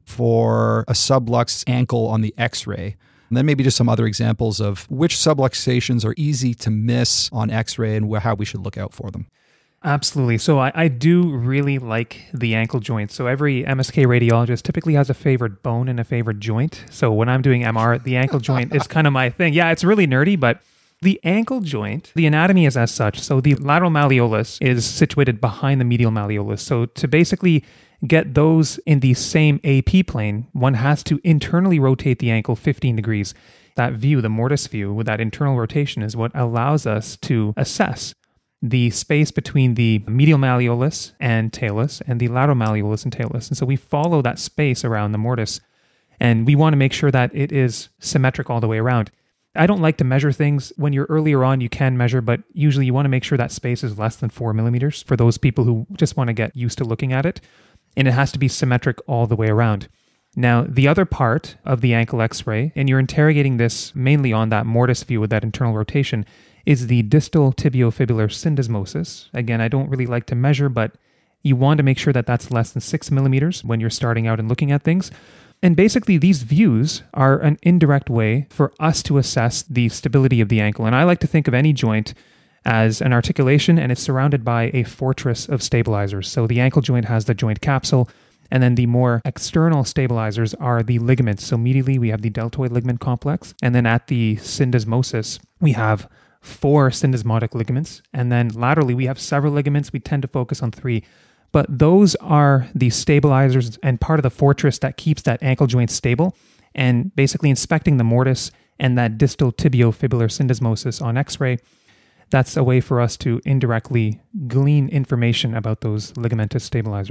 for a subluxed ankle on the x-ray? And then maybe just some other examples of which subluxations are easy to miss on x-ray and how we should look out for them. Absolutely. So I, I do really like the ankle joint. So every M S K radiologist typically has a favorite bone and a favorite joint. So when I'm doing M R, the ankle joint is kind of my thing. Yeah, it's really nerdy, but the ankle joint, the anatomy is as such. So the lateral malleolus is situated behind the medial malleolus. So to basically get those in the same A P plane, one has to internally rotate the ankle fifteen degrees. That view, the mortise view, with that internal rotation is what allows us to assess the space between the medial malleolus and talus and the lateral malleolus and talus. And so we follow that space around the mortise, and we want to make sure that it is symmetric all the way around. I don't like to measure things. When you're earlier on, you can measure, but usually you want to make sure that space is less than four millimeters for those people who just want to get used to looking at it. And it has to be symmetric all the way around. Now, the other part of the ankle x-ray, and you're interrogating this mainly on that mortise view with that internal rotation, is the distal tibiofibular syndesmosis. Again, I don't really like to measure, but you want to make sure that that's less than six millimeters when you're starting out and looking at things. And basically, these views are an indirect way for us to assess the stability of the ankle. And I like to think of any joint as an articulation, and it's surrounded by a fortress of stabilizers. So the ankle joint has the joint capsule, and then the more external stabilizers are the ligaments. So medially, we have the deltoid ligament complex, and then at the syndesmosis, we have four syndesmotic ligaments, and then laterally, we have several ligaments. We tend to focus on three. But those are the stabilizers and part of the fortress that keeps that ankle joint stable. And basically inspecting the mortise and that distal tibiofibular syndesmosis on x-ray, that's a way for us to indirectly glean information about those ligamentous stabilizers.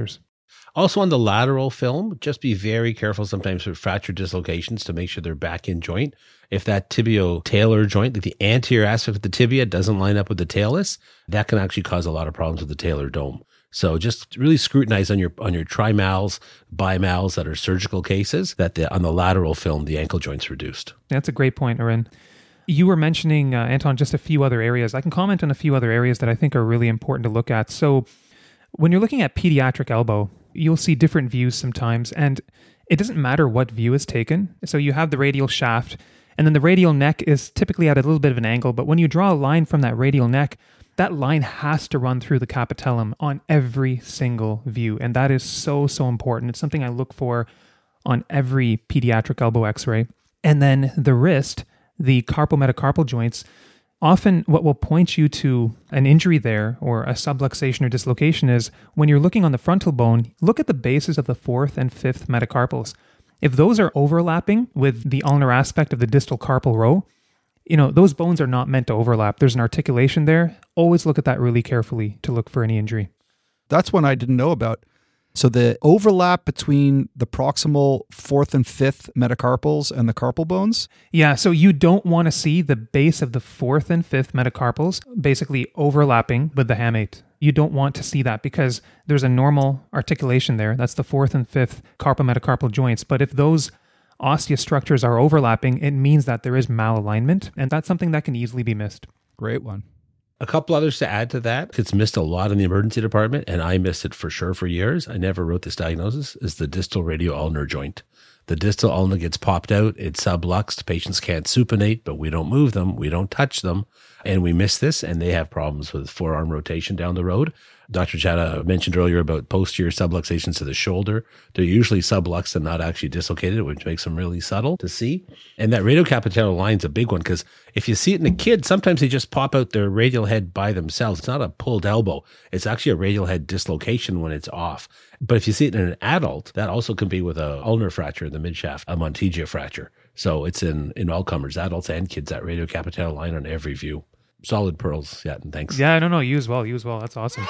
Also on the lateral film, just be very careful sometimes with fracture dislocations to make sure they're back in joint. If that tibio-talar joint, like the anterior aspect of the tibia, doesn't line up with the talus, that can actually cause a lot of problems with the talar dome. So just really scrutinize on your on your trimals, bimals that are surgical cases, that the, on the lateral film, the ankle joint's reduced. That's a great point, Arun. You were mentioning, uh, Anton, just a few other areas. I can comment on a few other areas that I think are really important to look at. So when you're looking at pediatric elbow, you'll see different views sometimes, and it doesn't matter what view is taken. So you have the radial shaft, and then the radial neck is typically at a little bit of an angle, but when you draw a line from that radial neck, that line has to run through the capitellum on every single view. And that is so, so important. It's something I look for on every pediatric elbow x-ray. And then the wrist, the carpometacarpal joints, often what will point you to an injury there or a subluxation or dislocation is when you're looking on the frontal bone, look at the bases of the fourth and fifth metacarpals. If those are overlapping with the ulnar aspect of the distal carpal row, you know, those bones are not meant to overlap. There's an articulation there. Always look at that really carefully to look for any injury. That's one I didn't know about. So the overlap between the proximal fourth and fifth metacarpals and the carpal bones? Yeah, so you don't want to see the base of the fourth and fifth metacarpals basically overlapping with the hamate. You don't want to see that because there's a normal articulation there. That's the fourth and fifth carpometacarpal joints. But if those osseous structures are overlapping, it means that there is malalignment, and that's something that can easily be missed. Great one. A couple others to add to that. It's missed a lot in the emergency department, and I missed it for sure for years. I never wrote this diagnosis, is the distal radio-ulnar joint. The distal ulna gets popped out, it's subluxed, patients can't supinate, but we don't move them, we don't touch them, and we miss this, and they have problems with forearm rotation down the road. Doctor Chadha mentioned earlier about posterior subluxations to the shoulder. They're usually subluxed and not actually dislocated, which makes them really subtle to see. And that radiocapitellar line is a big one because if you see it in a kid, sometimes they just pop out their radial head by themselves. It's not a pulled elbow. It's actually a radial head dislocation when it's off. But if you see it in an adult, that also can be with a ulnar fracture in the midshaft, a Monteggia fracture. So it's in, in all comers, adults and kids, that radiocapitellar line on every view. Solid pearls. Yeah, and thanks. Yeah, no, no, you as well. You as well. That's awesome.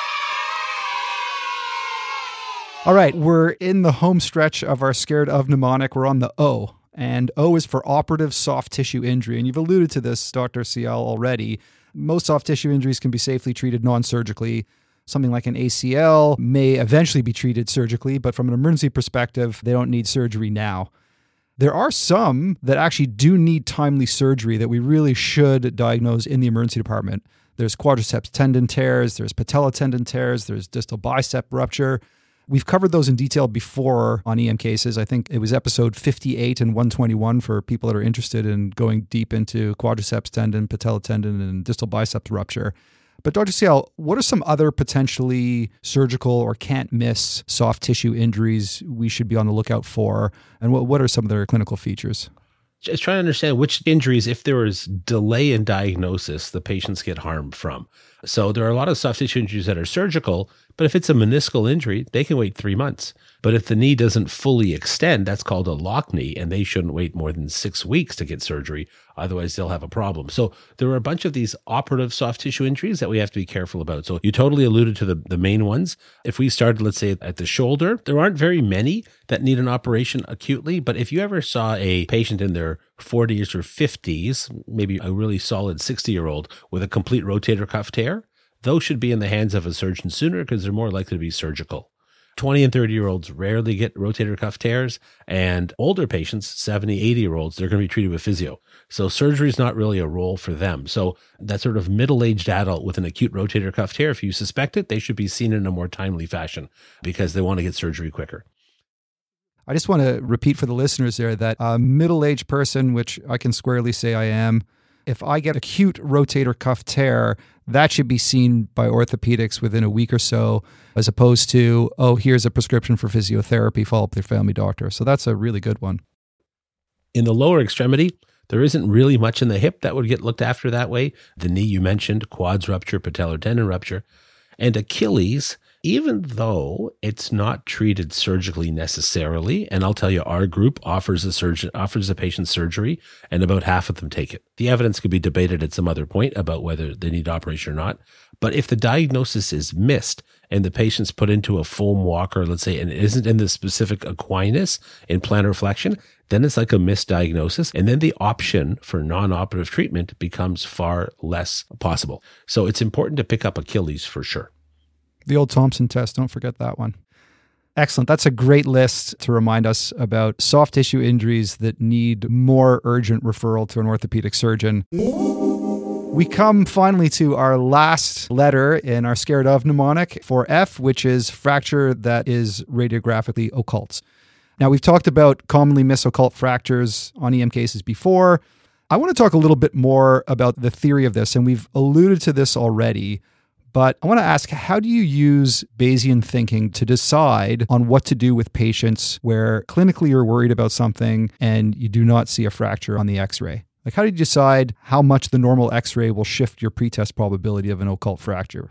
All right, we're in the home stretch of our Scared of Mnemonic. We're on the O, and O is for operative soft tissue injury. And you've alluded to this, Doctor Sial, already. Most soft tissue injuries can be safely treated non-surgically. Something like an A C L may eventually be treated surgically, but from an emergency perspective, they don't need surgery now. There are some that actually do need timely surgery that we really should diagnose in the emergency department. There's quadriceps tendon tears, there's patella tendon tears, there's distal bicep rupture. We've covered those in detail before on E M cases. I think it was episode fifty-eight and one twenty-one for people that are interested in going deep into quadriceps tendon, patella tendon, and distal biceps rupture. But Doctor Sial, what are some other potentially surgical or can't miss soft tissue injuries we should be on the lookout for? And what, what are some of their clinical features? Just trying to understand which injuries, if there is delay in diagnosis, the patients get harmed from. So there are a lot of soft tissue injuries that are surgical, but if it's a meniscal injury, they can wait three months. But if the knee doesn't fully extend, that's called a lock knee, and they shouldn't wait more than six weeks to get surgery. Otherwise, they'll have a problem. So there are a bunch of these operative soft tissue injuries that we have to be careful about. So you totally alluded to the, the main ones. If we started, let's say, at the shoulder, there aren't very many that need an operation acutely. But if you ever saw a patient in their forties or fifties, maybe a really solid sixty-year-old with a complete rotator cuff tear, those should be in the hands of a surgeon sooner because they're more likely to be surgical. twenty and thirty-year-olds rarely get rotator cuff tears, and older patients, seventy, eighty-year-olds, they're going to be treated with physio. So surgery is not really a role for them. So that sort of middle-aged adult with an acute rotator cuff tear, if you suspect it, they should be seen in a more timely fashion because they want to get surgery quicker. I just want to repeat for the listeners there that a middle-aged person, which I can squarely say I am, if I get acute rotator cuff tear, that should be seen by orthopedics within a week or so, as opposed to, oh, here's a prescription for physiotherapy, follow up with your family doctor. So that's a really good one. In the lower extremity, there isn't really much in the hip that would get looked after that way. The knee you mentioned, quads rupture, patellar tendon rupture. And Achilles, even though it's not treated surgically necessarily. And I'll tell you, our group offers a surgeon offers a patient surgery, and about half of them take it. The evidence could be debated at some other point about whether they need operation or not. But if the diagnosis is missed and the patient's put into a foam walker, let's say, and it isn't in the specific equinus in plantar flexion, then it's like a misdiagnosis. And then the option for non-operative treatment becomes far less possible. So it's important to pick up Achilles for sure. The old Thompson test, don't forget that one. Excellent. That's a great list to remind us about soft tissue injuries that need more urgent referral to an orthopedic surgeon. We come finally to our last letter in our Scared Of mnemonic for F, which is fracture that is radiographically occult. Now, we've talked about commonly missed occult fractures on E M cases before. I want to talk a little bit more about the theory of this, and we've alluded to this already. But I want to ask, how do you use Bayesian thinking to decide on what to do with patients where clinically you're worried about something and you do not see a fracture on the x-ray? Like, how do you decide how much the normal x-ray will shift your pretest probability of an occult fracture?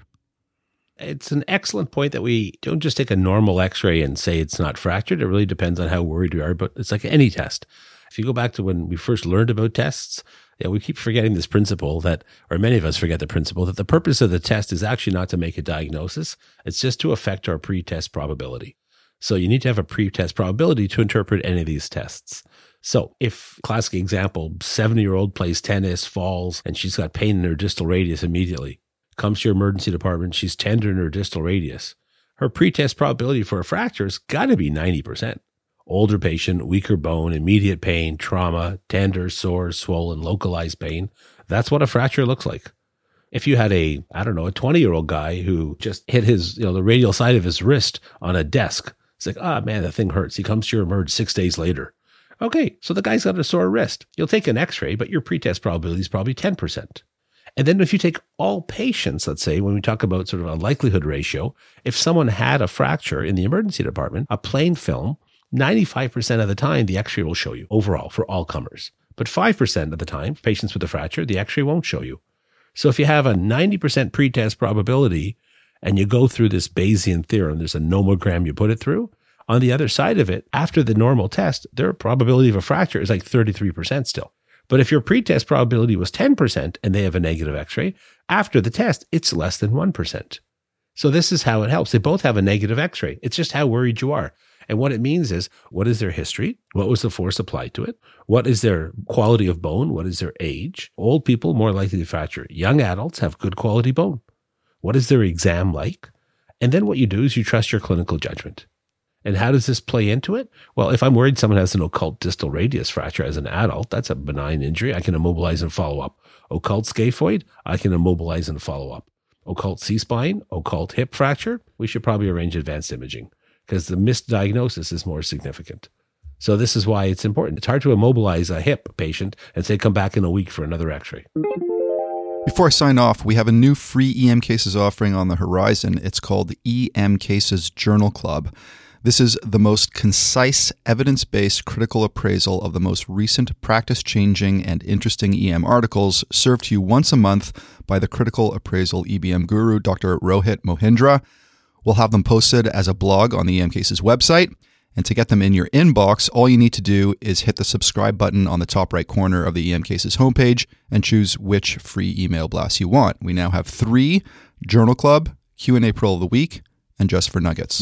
It's an excellent point that we don't just take a normal x-ray and say it's not fractured. It really depends on how worried we are, but it's like any test. If you go back to when we first learned about tests, yeah, we keep forgetting this principle that, or many of us forget the principle, that the purpose of the test is actually not to make a diagnosis. It's just to affect our pretest probability. So you need to have a pretest probability to interpret any of these tests. So if, classic example, seventy-year-old plays tennis, falls, and she's got pain in her distal radius immediately, comes to your emergency department, she's tender in her distal radius, her pretest probability for a fracture has got to be ninety percent. Older patient, weaker bone, immediate pain, trauma, tender, sore, swollen, localized pain. That's what a fracture looks like. If you had a, I don't know, a twenty-year-old guy who just hit his, you know, the radial side of his wrist on a desk, it's like, ah, oh, man, that thing hurts. He comes to your emerge six days later. Okay, so the guy's got a sore wrist. You'll take an x-ray, but your pretest probability is probably ten percent. And then if you take all patients, let's say, when we talk about sort of a likelihood ratio, if someone had a fracture in the emergency department, a plain film, ninety-five percent of the time, the x-ray will show you overall for all comers. But five percent of the time, patients with a fracture, the x-ray won't show you. So if you have a ninety percent pretest probability and you go through this Bayesian theorem, there's a nomogram you put it through, on the other side of it, after the normal test, their probability of a fracture is like thirty-three percent still. But if your pretest probability was ten percent and they have a negative x-ray, after the test, it's less than one percent. So this is how it helps. They both have a negative x-ray. It's just how worried you are. And what it means is, what is their history? What was the force applied to it? What is their quality of bone? What is their age? Old people more likely to fracture. Young adults have good quality bone. What is their exam like? And then what you do is you trust your clinical judgment. And how does this play into it? Well, if I'm worried someone has an occult distal radius fracture as an adult, that's a benign injury. I can immobilize and follow up. Occult scaphoid, I can immobilize and follow up. Occult C-spine, occult hip fracture, we should probably arrange advanced imaging because the misdiagnosis is more significant. So this is why it's important. It's hard to immobilize a hip patient and say, come back in a week for another x-ray. Before I sign off, we have a new free E M Cases offering on the horizon. It's called E M Cases Journal Club. This is the most concise, evidence-based critical appraisal of the most recent practice-changing and interesting E M articles served to you once a month by the critical appraisal E B M guru, Doctor Rohit Mohindra. We'll have them posted as a blog on the E M Cases website. And to get them in your inbox, all you need to do is hit the subscribe button on the top right corner of the E M Cases homepage and choose which free email blast you want. We now have three: Journal Club, Q and A Pro of the Week, and Just for Nuggets.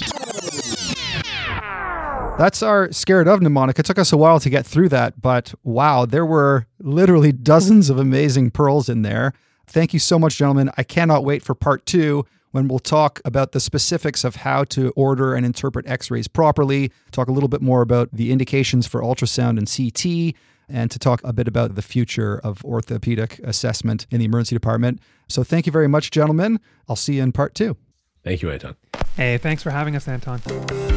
That's our Scared Of mnemonic. It took us a while to get through that, but wow, there were literally dozens of amazing pearls in there. Thank you so much, gentlemen. I cannot wait for part two, when we'll talk about the specifics of how to order and interpret x-rays properly, talk a little bit more about the indications for ultrasound and C T, and to talk a bit about the future of orthopedic assessment in the emergency department. So thank you very much, gentlemen. I'll see you in part two. Thank you, Anton. Hey, thanks for having us, Anton.